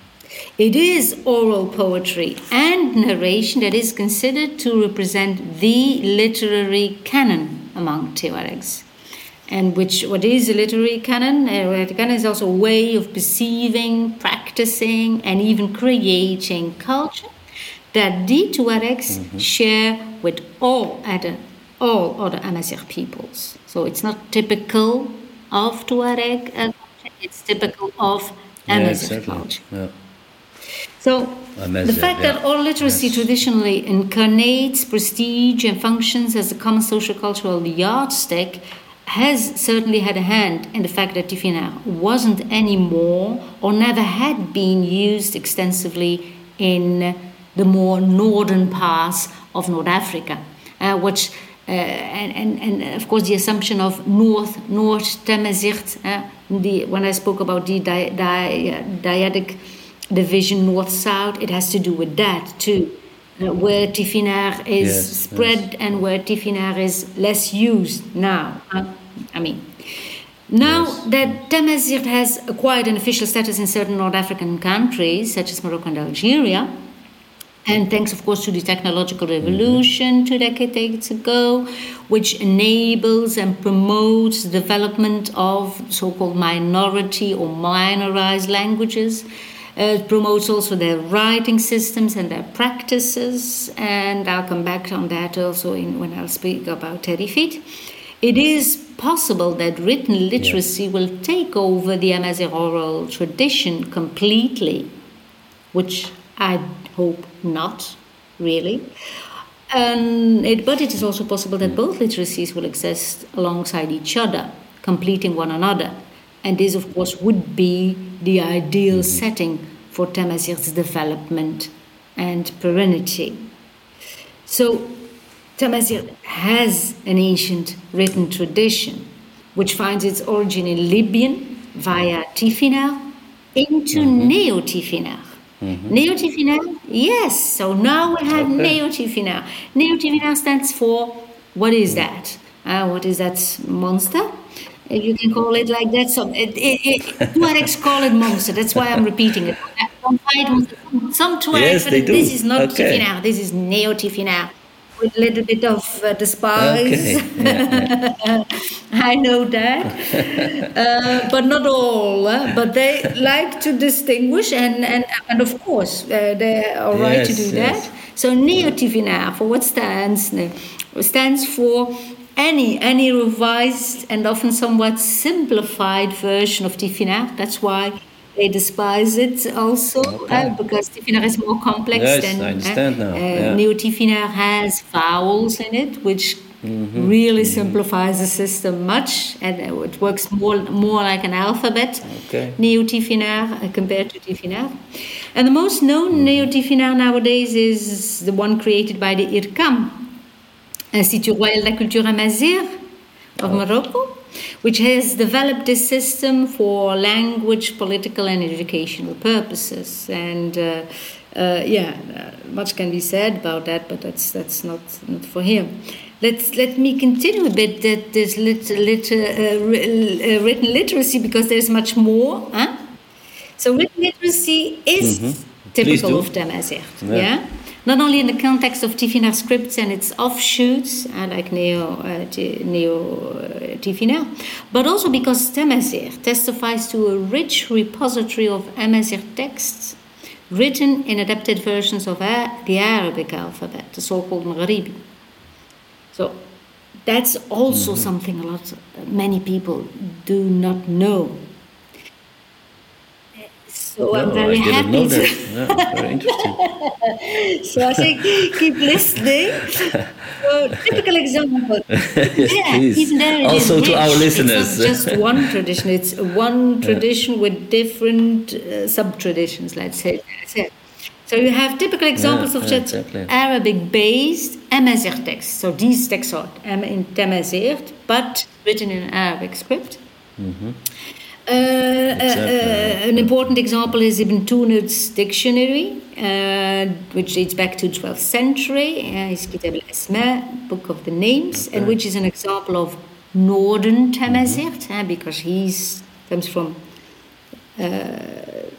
It is oral poetry and narration that is considered to represent the literary canon among Tuaregs. And which, what is a literary canon? A literary canon is also a way of perceiving, practicing, and even creating culture that the Tuaregs mm-hmm. share with all other, all other Amazigh peoples. So it's not typical of Tuareg culture, it's typical of Amazigh yeah, culture. Yeah. So Amazigh, the fact yeah. that oral literacy yes. traditionally incarnates prestige and functions as a common social cultural yardstick has certainly had a hand in the fact that Tifinagh wasn't anymore or never had been used extensively in the more northern parts of North Africa, uh, which uh, and, and, and of course the assumption of North North Tamazight, uh, the when I spoke about the di, di, dyadic division north-south, it has to do with that too. Uh, where Tifinagh is yes, spread yes. and where Tifinagh is less used now. Uh, I mean, now yes. that Tamazight has acquired an official status in certain North African countries, such as Morocco and Algeria, and thanks, of course, to the technological revolution mm-hmm. two decades ago, which enables and promotes the development of so-called minority or minorized languages. Uh, it promotes also their writing systems and their practices, and I'll come back on that also in, when I'll speak about Terifit. It is possible that written literacy yeah. will take over the Amazigh oral tradition completely, which I hope not, really. Um, it, but it is also possible that both literacies will exist alongside each other, completing one another. And this, of course, would be the ideal mm-hmm. setting for Tamazight's development and perennity. So, Tamazight has an ancient written tradition, which finds its origin in Libyan via Tifinagh into mm-hmm. Neo-Tifinagh. Mm-hmm. Neo-Tifinagh, yes. So now we have okay. Neo-Tifinagh. Neo-Tifinagh stands for, what is that? Uh, what is that monster? You can call it like that. So it, it, it, Tuaregs call it monster. That's why I'm repeating it. Some Tuaregs, yes, but they do. This is not okay. Tifinagh. This is Neo-Tifinagh. With a little bit of uh, despise. Okay. Yeah, yeah. I know that. uh, but not all. Uh, but they like to distinguish, and, and, and of course, uh, they are right yes, to do yes. that. So Neo-Tifinagh, for what stands? Stands for any any revised and often somewhat simplified version of Tifinagh. That's why they despise it also, okay. uh, because Tifinagh is more complex yes, than I understand uh, now. Uh, yeah. Neo-Tifinagh has vowels in it, which mm-hmm. really mm-hmm. simplifies the system much, and it works more more like an alphabet. Okay. Neo-Tifinagh uh, compared to Tifinagh, and the most known mm-hmm. Neo-Tifinagh nowadays is the one created by the I R C A M, Institut Royal de la Culture Amazigh of oh. Morocco, which has developed this system for language, political, and educational purposes. And uh, uh, yeah, uh, much can be said about that, but that's that's not, not for here. Let's let me continue a bit that this lit, lit, uh, written literacy, because there's much more. Huh? So written literacy is mm-hmm. typical of Tamazight. Yeah. yeah. Not only in the context of Tifinagh scripts and its offshoots, uh, like Neo, uh, t- Neo uh, Tifinagh, but also because Tamazight testifies to a rich repository of Amazigh texts written in adapted versions of uh, the Arabic alphabet, the so-called Maghribi. So that's also mm-hmm. something a lot, many people do not know. So no, I'm very I didn't happy. know To that. Yeah, very interesting. so I think keep listening. So typical example. Yes, Yeah, please. even there it Also is to rich. our It's listeners. not just one tradition. It's one tradition with different uh, sub-traditions, let's say. That's it. So you have typical examples Yeah, of yeah, just exactly. Arabic-based Amazigh texts. So these texts are Am- in Tamazight, but written in Arabic script. Uh, Exactly, uh, yeah. an important example is Ibn Tunud's dictionary, uh, which dates back to twelfth century. Uh, his Kitab al-Asma, Book of the Names, and Okay. which is an example of Northern Tamazight, uh, because he comes from. Uh,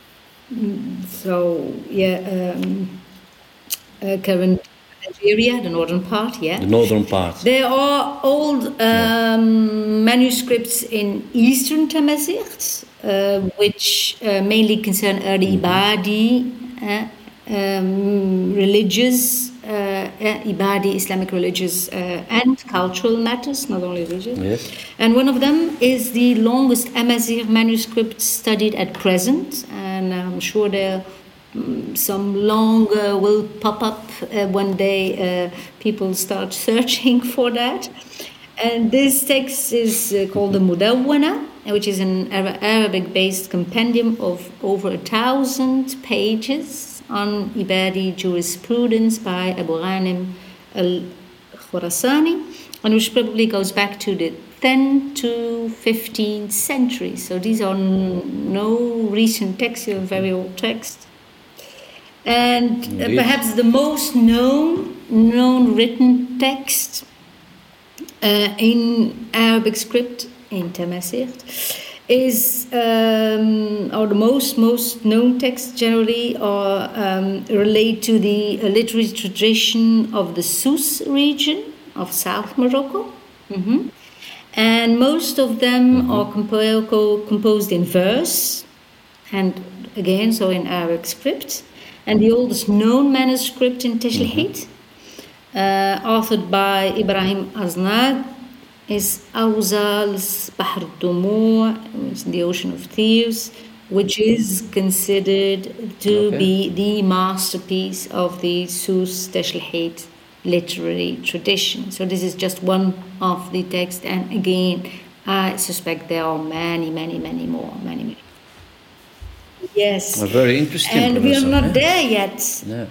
so yeah, um, uh, current Algeria, the northern part. Yeah, The northern part. there are old um, manuscripts in Eastern Tamazight, uh, which uh, mainly concern early Ibadi, uh, um, religious, uh, uh, Ibadi, Islamic religious uh, and cultural matters, not only religious. Yes. And one of them is the longest Amazigh manuscript studied at present, and I'm sure there Mm, some longer will pop up uh, one day. Uh, people start searching for that, and this text is uh, called the Mudawwana, which is an Ara- Arabic-based compendium of over a thousand pages on Ibadi jurisprudence by Abu Ghanim al-Khurasani, and which probably goes back to the tenth to fifteenth century. So these are n- no recent texts; they're very old texts. And uh, Indeed. perhaps the most known known written text uh, in Arabic script in Tamazight is, um, or the most most known texts generally are um, relate to the uh, literary tradition of the Souss region of South Morocco. Mhm. And most of them are compo- composed in verse, and again, so in Arabic script. And the oldest known manuscript in Tashilhit, uh, authored by Ibrahim Aznad, is Awzal's Bahr al-Dumu', which is the Ocean of Tears, which is considered to Okay. be the masterpiece of the Souss Tashilhit literary tradition. So this is just one of the texts, and again, I suspect there are many, many, many more, many, many. Yes. Well, very interesting, And we are Professor, not yeah. there yet. Yeah.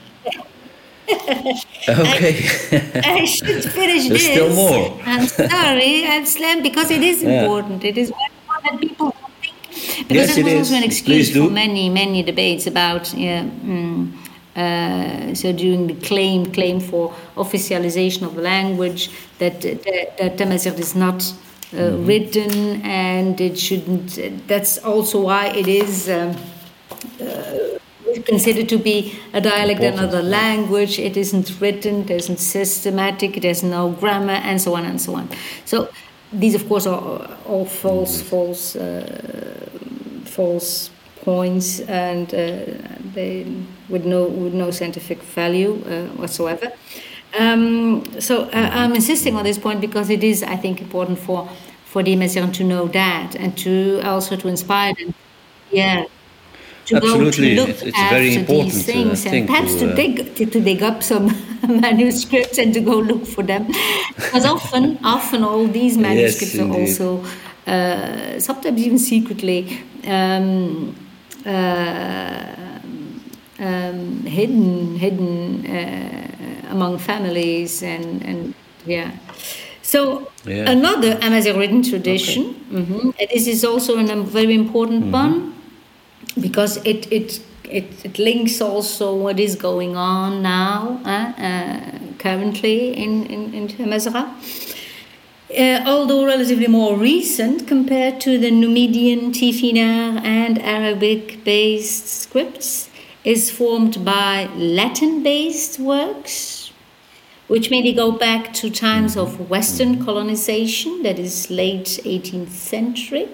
Okay. I should finish There's this. still more. I'm sorry, I'm slam because it is Yeah. important. It is what that people don't think. Because Yes, there it was also is. an excuse Please do. for many, many debates about yeah, mm, uh, so during the claim claim for officialization of the language that that, that Tamazight is not uh, Mm-hmm. written, and it shouldn't. That's also why it is. Um, considered to be a dialect, Important, another yeah. language. It isn't written, it isn't systematic, it has no grammar, and so on and so on. So these, of course, are all false, false, uh, false points, and uh, they with no with no scientific value uh, whatsoever. Um, so uh, I'm insisting on this point because it is, I think, important for for the Amazigh to know that, and to also to inspire them. Yeah. To Absolutely. go to look It's- it's after very these important, uh, I things, and think, perhaps to, to, uh, dig to, to dig up some manuscripts and to go look for them, because often often all these manuscripts are indeed. also uh, sometimes even secretly um, uh, um, hidden hidden uh, among families, and and yeah. So Yeah. another Amazigh written tradition, mhm, and this is also a very important one, because it, it it it links also what is going on now, uh, uh, currently in in, in Tamazight. Uh, although relatively more recent compared to the Numidian, Tifinagh, and Arabic-based scripts, is formed by Latin-based works, which maybe go back to times of Western colonization, that is late eighteenth century.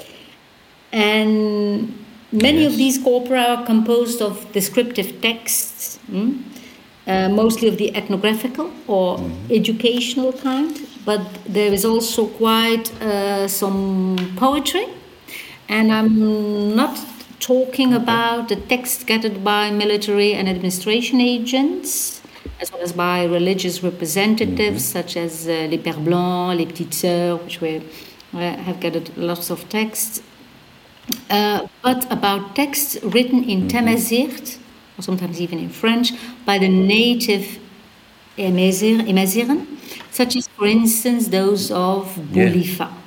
And many Yes. of these corpora are composed of descriptive texts, mm, uh, mostly of the ethnographical or educational kind, but there is also quite uh, some poetry. And I'm not talking okay. about the text gathered by military and administration agents, as well as by religious representatives mm-hmm. such as uh, les Pères Blancs, les Petites Sœurs, which were, uh, have gathered lots of texts, uh, but about texts written in mm-hmm. Tamazight, or sometimes even in French, by the native Amaziren, such as, for instance, those of Boulifa. Yeah.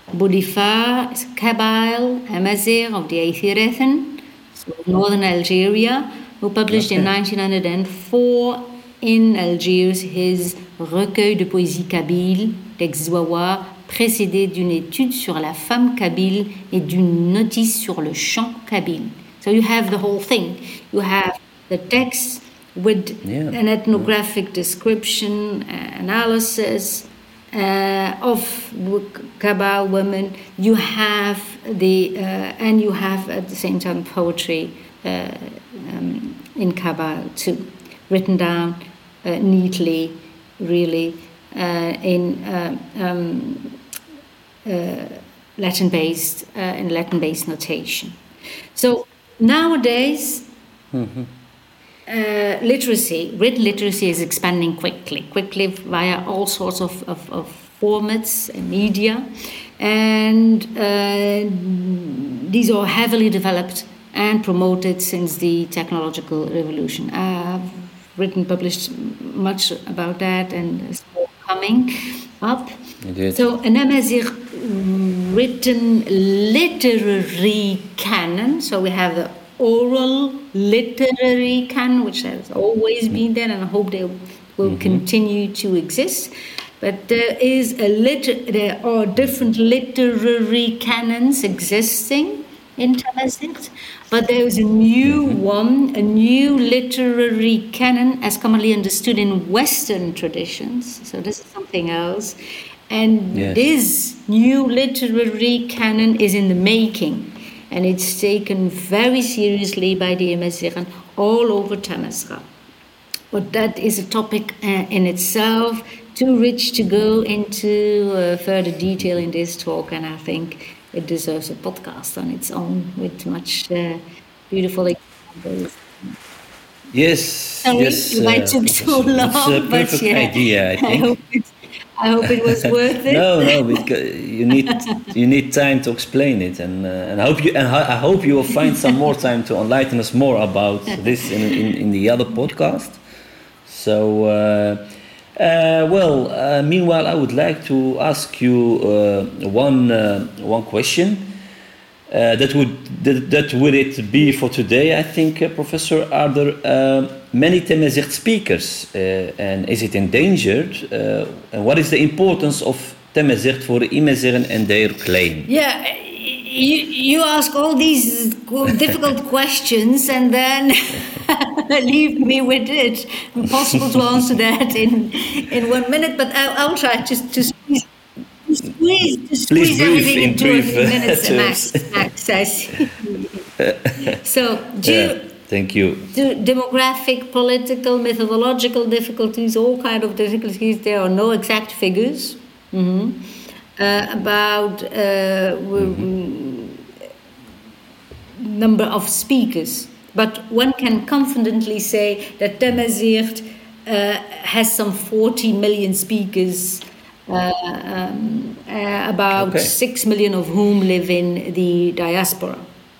Boulifa is a Kabyle Amazigh of the Aithirethan, so northern Algeria, who published okay. in nineteen oh four in Algiers his recueil de poésie kabyle, d'Exwawa, précédé d'une étude sur la femme kabyle et d'une notice sur le chant kabyle. So you have the whole thing. You have the text with yeah. an ethnographic description, uh, analysis uh, of Kabyle women. You have the uh, and you have at the same time poetry uh, um, in Kabyle too, written down uh, neatly, really uh, in uh, um, uh, Latin-based uh, in Latin-based notation. So nowadays. Mm-hmm. Uh, literacy, written literacy is expanding quickly, quickly via all sorts of, of, of formats and media. And uh, these are heavily developed and promoted since the technological revolution. I've written, published much about that, and it's more coming up. Indeed. So an Amazigh written literary canon, so we have the oral literary canon, which has always been there, and I hope they will mm-hmm. continue to exist. But there is a liter- there are different literary canons existing in Tamazight, but there is a new mm-hmm. one, a new literary canon, as commonly understood in Western traditions. So this is something else, and yes. this new literary canon is in the making. And it's taken very seriously by the Amaziren all over Tamazight. But that is a topic uh, in itself, too rich to go into uh, further detail in this talk, and I think it deserves a podcast on its own with much uh, beautiful examples. Yes, Sorry, yes. It might uh, took so long, it's a perfect but yeah, idea, I think. I hope it's I hope it was worth it. no, no, because you need you need time to explain it, and uh, and I hope you and I hope you will find some more time to enlighten us more about this in in, in the other podcast. So, uh, uh, well, uh, meanwhile, I would like to ask you uh, one uh, one question. Uh, that would that, that would it be for today? I think, uh, Professor. Are there uh, many Tamazight speakers, uh, and is it endangered? Uh, and what is the importance of Tamazight for the Amaziren and their claim? Yeah, you you ask all these difficult questions, and then leave me with it. Impossible to answer that in in one minute, but I, I'll try just to squeeze. Squeeze, to squeeze Please everything in into brief, a few minutes uh, max, max, I see. So, due yeah, thank you. to demographic, political, methodological difficulties, all kind of difficulties, there are no exact figures mm-hmm. uh, about uh, mm-hmm. number of speakers. But one can confidently say that Tamazight uh, has some forty million speakers. Uh, um, uh, about okay. six million of whom live in the diaspora.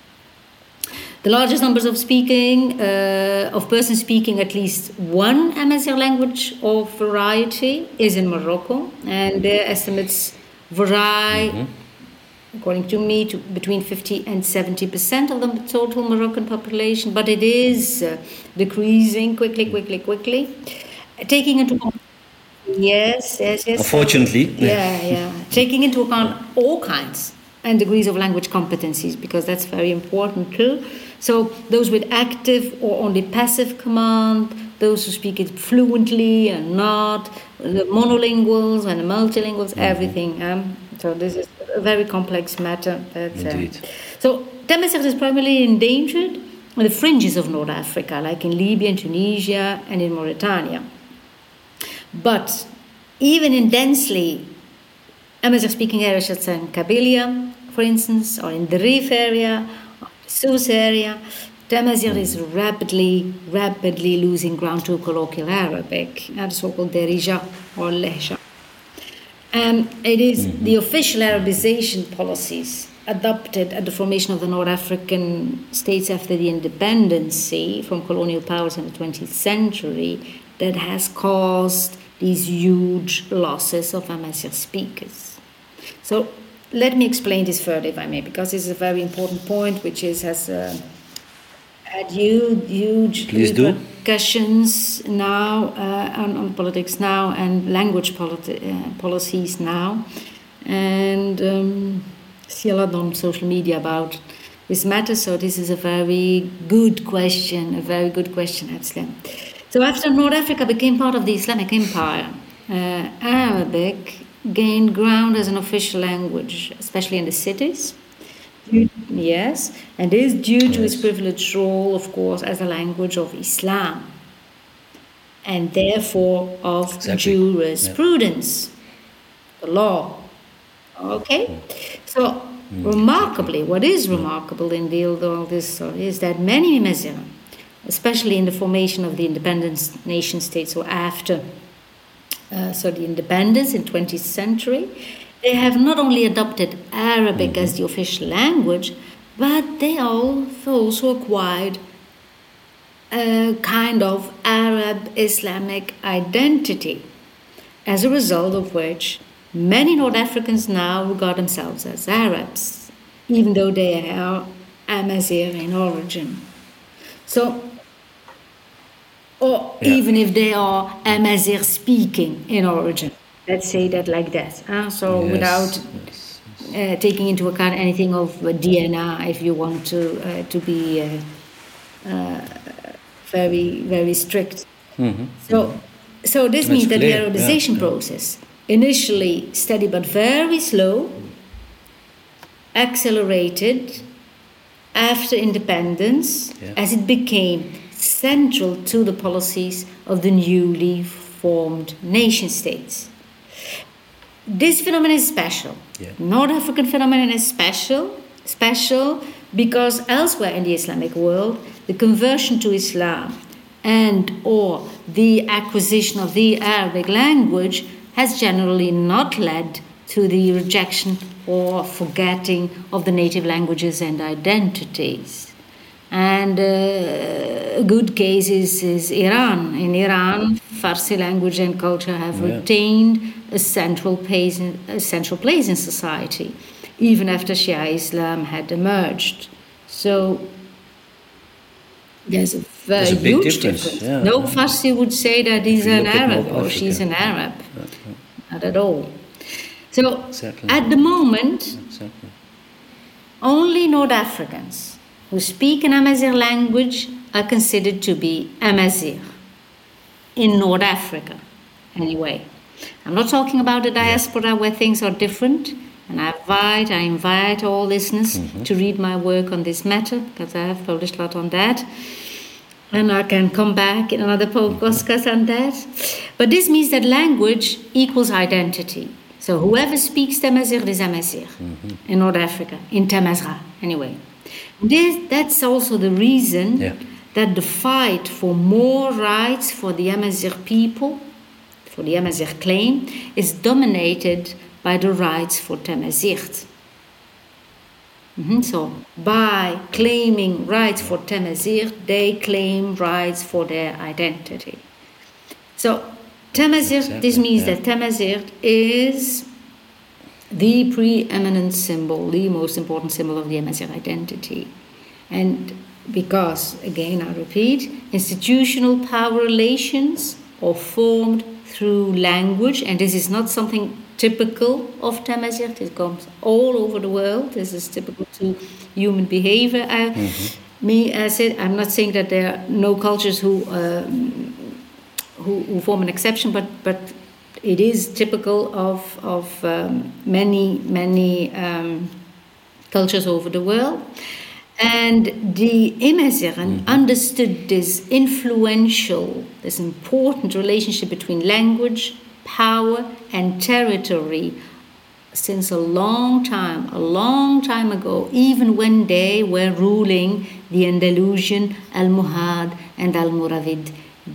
The largest numbers of speaking, uh, of persons speaking at least one Amazigh language or variety is in Morocco, and their estimates vary, mm-hmm. according to me, to between fifty and seventy percent of the total Moroccan population, but it is uh, decreasing quickly, quickly, quickly. Taking into account Yes, yes, yes. Unfortunately. Yeah, yeah. Taking into account all kinds and degrees of language competencies, because that's very important too. So those with active or only passive command, those who speak it fluently and not, the monolinguals and the multilinguals, mm-hmm. everything. Um, so this is a very complex matter. That, Indeed. Uh, so Tamazight is primarily endangered on the fringes of North Africa, like in Libya, in Tunisia, and in Mauritania. But even in densely Amazigh-speaking areas such as in Kabylia, for instance, or in the Rif area, or the Sousse area, Tamazight is rapidly, rapidly losing ground to colloquial Arabic, uh, the so-called Darija or Lehja. Um, it is mm-hmm. the official Arabization policies adopted at the formation of the North African states after the independence from colonial powers in the twentieth century that has caused these huge losses of Amazigh speakers. So let me explain this further, if I may, because this is a very important point, which is has uh, had huge, huge Please repercussions do. now uh, on, on politics now and language politi- uh, policies now, and um, see a lot on social media about this matter. So this is a very good question, a very good question, actually. So after North Africa became part of the Islamic Empire, uh, Arabic gained ground as an official language, especially in the cities. Yes, and this is due to its privileged role, of course, as a language of Islam, and therefore of exactly. jurisprudence, yeah. the law. Okay, so mm, remarkably, what is remarkable in the, all this is that many Amazigh, especially in the formation of the independent nation states, or after, uh, so the independence in twentieth century, they have not only adopted Arabic mm-hmm. as the official language, but they also acquired a kind of Arab Islamic identity, as a result of which many North Africans now regard themselves as Arabs, even though they are Amazigh in origin. So, or yeah. even if they are Amazigh speaking in origin. Let's say that like that. Uh, so yes. without yes. Uh, taking into account anything of uh, D N A, if you want to uh, to be uh, uh, very very strict. Mm-hmm. So so this That's means that clear. the Arabization yeah. process, initially steady but very slow, accelerated after independence yeah. as it became central to the policies of the newly formed nation states. This phenomenon is special. Yeah. North African phenomenon is special, special because elsewhere in the Islamic world, the conversion to Islam and or the acquisition of the Arabic language has generally not led to the rejection or forgetting of the native languages and identities. And uh, a good case is, is Iran. In Iran, Farsi language and culture have yeah. retained a central place, in, a central place in society, even after Shia Islam had emerged. So there's a very there's a huge difference. difference. Yeah. No Farsi would say that he's an Arab or she's an Arab. Yeah, yeah. Not at all. So exactly. at the moment, exactly. only North Africans who speak an Amazigh language are considered to be Amazigh in North Africa, anyway. I'm not talking about the diaspora yeah. where things are different, and I invite, I invite all listeners mm-hmm. to read my work on this matter, because I have published a lot on that, and I can come back in another podcast mm-hmm. on that. But this means that language equals identity. So whoever speaks Tamazight is Amazigh mm-hmm. in North Africa, in Tamazgha, anyway. This, that's also the reason yeah. that the fight for more rights for the Amazigh people, for the Amazigh claim, is dominated by the rights for Tamazight. Mm-hmm. So, by claiming rights for Tamazight, they claim rights for their identity. So, Tamazight, exactly. this means yeah. that Tamazight is the preeminent symbol, the most important symbol of the Amazigh identity. And because, again, I repeat, institutional power relations are formed through language, and this is not something typical of Tamazight. It comes all over the world. This is typical to human behavior. I, mm-hmm. Me, I said, I'm not saying that there are no cultures who uh, who, who form an exception, but but it is typical of of um, many many um, cultures over the world. And the Amazigh mm-hmm. understood this influential, this important relationship between language, power, and territory since a long time, a long time ago, even when they were ruling the Andalusian, Almohad, and Almoravid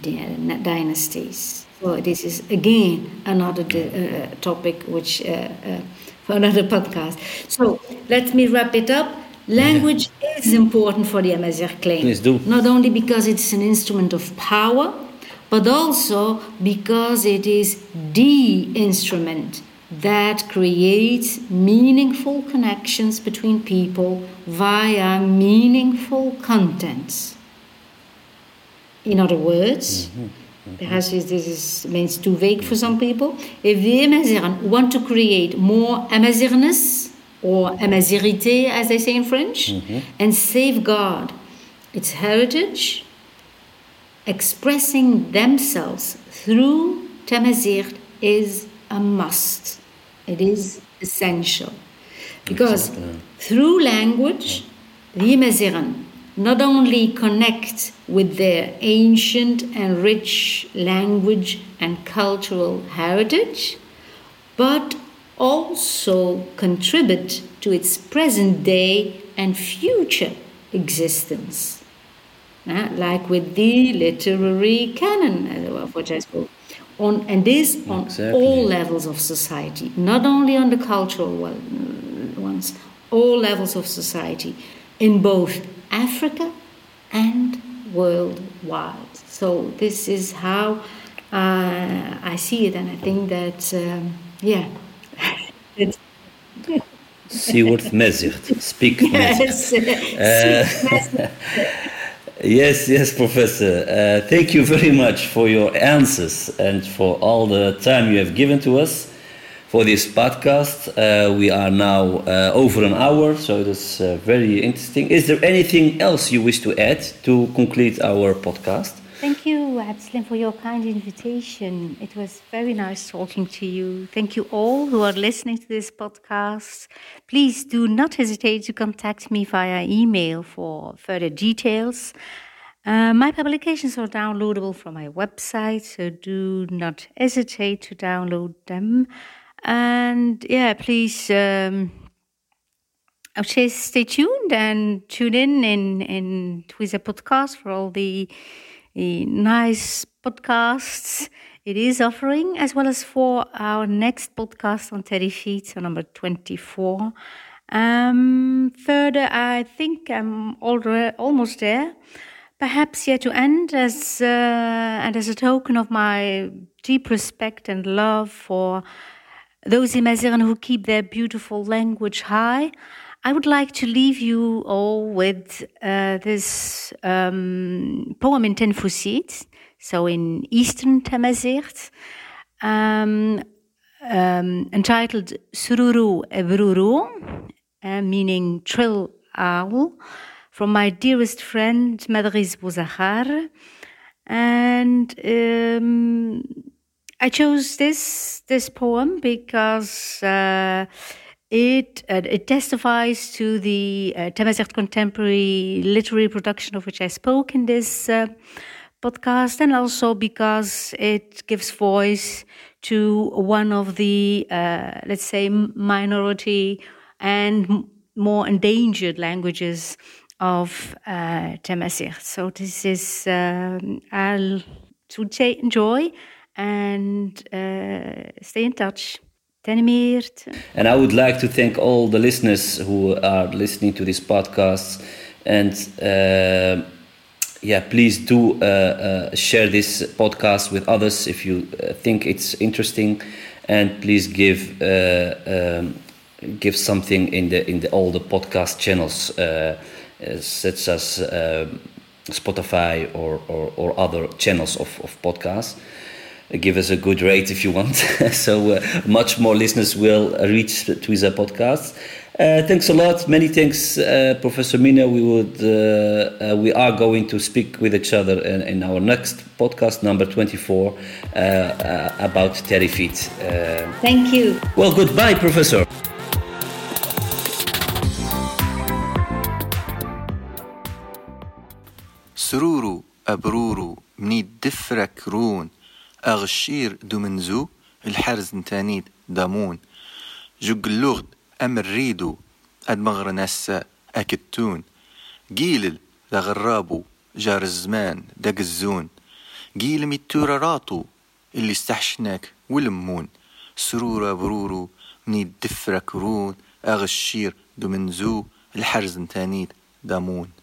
dynasties. So this is again another uh, topic which uh, uh, for another podcast. So let me wrap it up. Language yeah. is important for the Amazigh claim. Please do. Not only because it's an instrument of power, but also because it is the instrument that creates meaningful connections between people via meaningful contents. In other words, mm-hmm. Mm-hmm. perhaps this is, means too vague for some people. If the Amazighs want to create more Amazighness, or Amazighité, as they say in French, mm-hmm. and safeguard its heritage, expressing themselves through Tamazight is a must. It is essential. Because exactly. through language, the Amazighs not only connect with their ancient and rich language and cultural heritage, but also contribute to its present day and future existence. Uh, like with the literary canon, of which I spoke. On, and this on exactly. all levels of society, not only on the cultural ones, all levels of society, in both Africa and worldwide. So this is how uh, I see it, and I think that, um, yeah. it's Siewert Mazight, speak yes. Mazight. Uh, Yes, yes, Professor. Uh, thank you very much for your answers and for all the time you have given to us for this podcast. Uh, we are now uh, over an hour, so that's uh, very interesting. Is there anything else you wish to add to conclude our podcast? Thank you, Abdeslam, for your kind invitation. It was very nice talking to you. Thank you all who are listening to this podcast. Please do not hesitate to contact me via email for further details. Uh, my publications are downloadable from my website, so do not hesitate to download them. And yeah, please, um, I would say stay tuned and tune in in, in Twiza podcast for all the The nice podcasts it is offering, as well as for our next podcast on Terrified, so number twenty-four. Um, further, I think I'm already almost there. Perhaps yet to end, as uh, and as a token of my deep respect and love for those Amazighs who keep their beautiful language high, I would like to leave you all with uh, this um, poem in Tenfusit, so in Eastern Tamazight, um, um, entitled Sururu Ebruru, uh, meaning trill owl, from my dearest friend Madriz Bouzakhar. And um, I chose this this poem because uh, It uh, it testifies to the uh, Tamazight contemporary literary production of which I spoke in this uh, podcast, and also because it gives voice to one of the, uh, let's say, minority and m- more endangered languages of uh, Tamazight. So this is, um, I'll to say enjoy and uh, stay in touch. And I would like to thank all the listeners who are listening to this podcast. And uh, yeah, please do uh, uh, share this podcast with others if you uh, think it's interesting. And please give uh, um, give something in the in the all the podcast channels, uh, such as uh, Spotify or, or or other channels of of podcasts. Give us a good rate if you want, so uh, much more listeners will reach Twiza podcast. Uh, thanks a lot. Many thanks, uh, Professor Mina. We would, uh, uh, we are going to speak with each other in, in our next podcast, number twenty-four, uh, uh, about Terrified. Uh, Thank you. Well, goodbye, Professor. سرورو أبرورو منيد دفرك رون أغشير دو منزو الحرز نتانيد دامون جوج اللغد أم الريدو أدمغر ناس أكتون جيل دا غرابو جار الزمان داق الزون جيل ميتورا راتو اللي استحشناك ولمون سرورة برورو مني دفرك رون أغشير دو منزو الحرز نتانيت دامون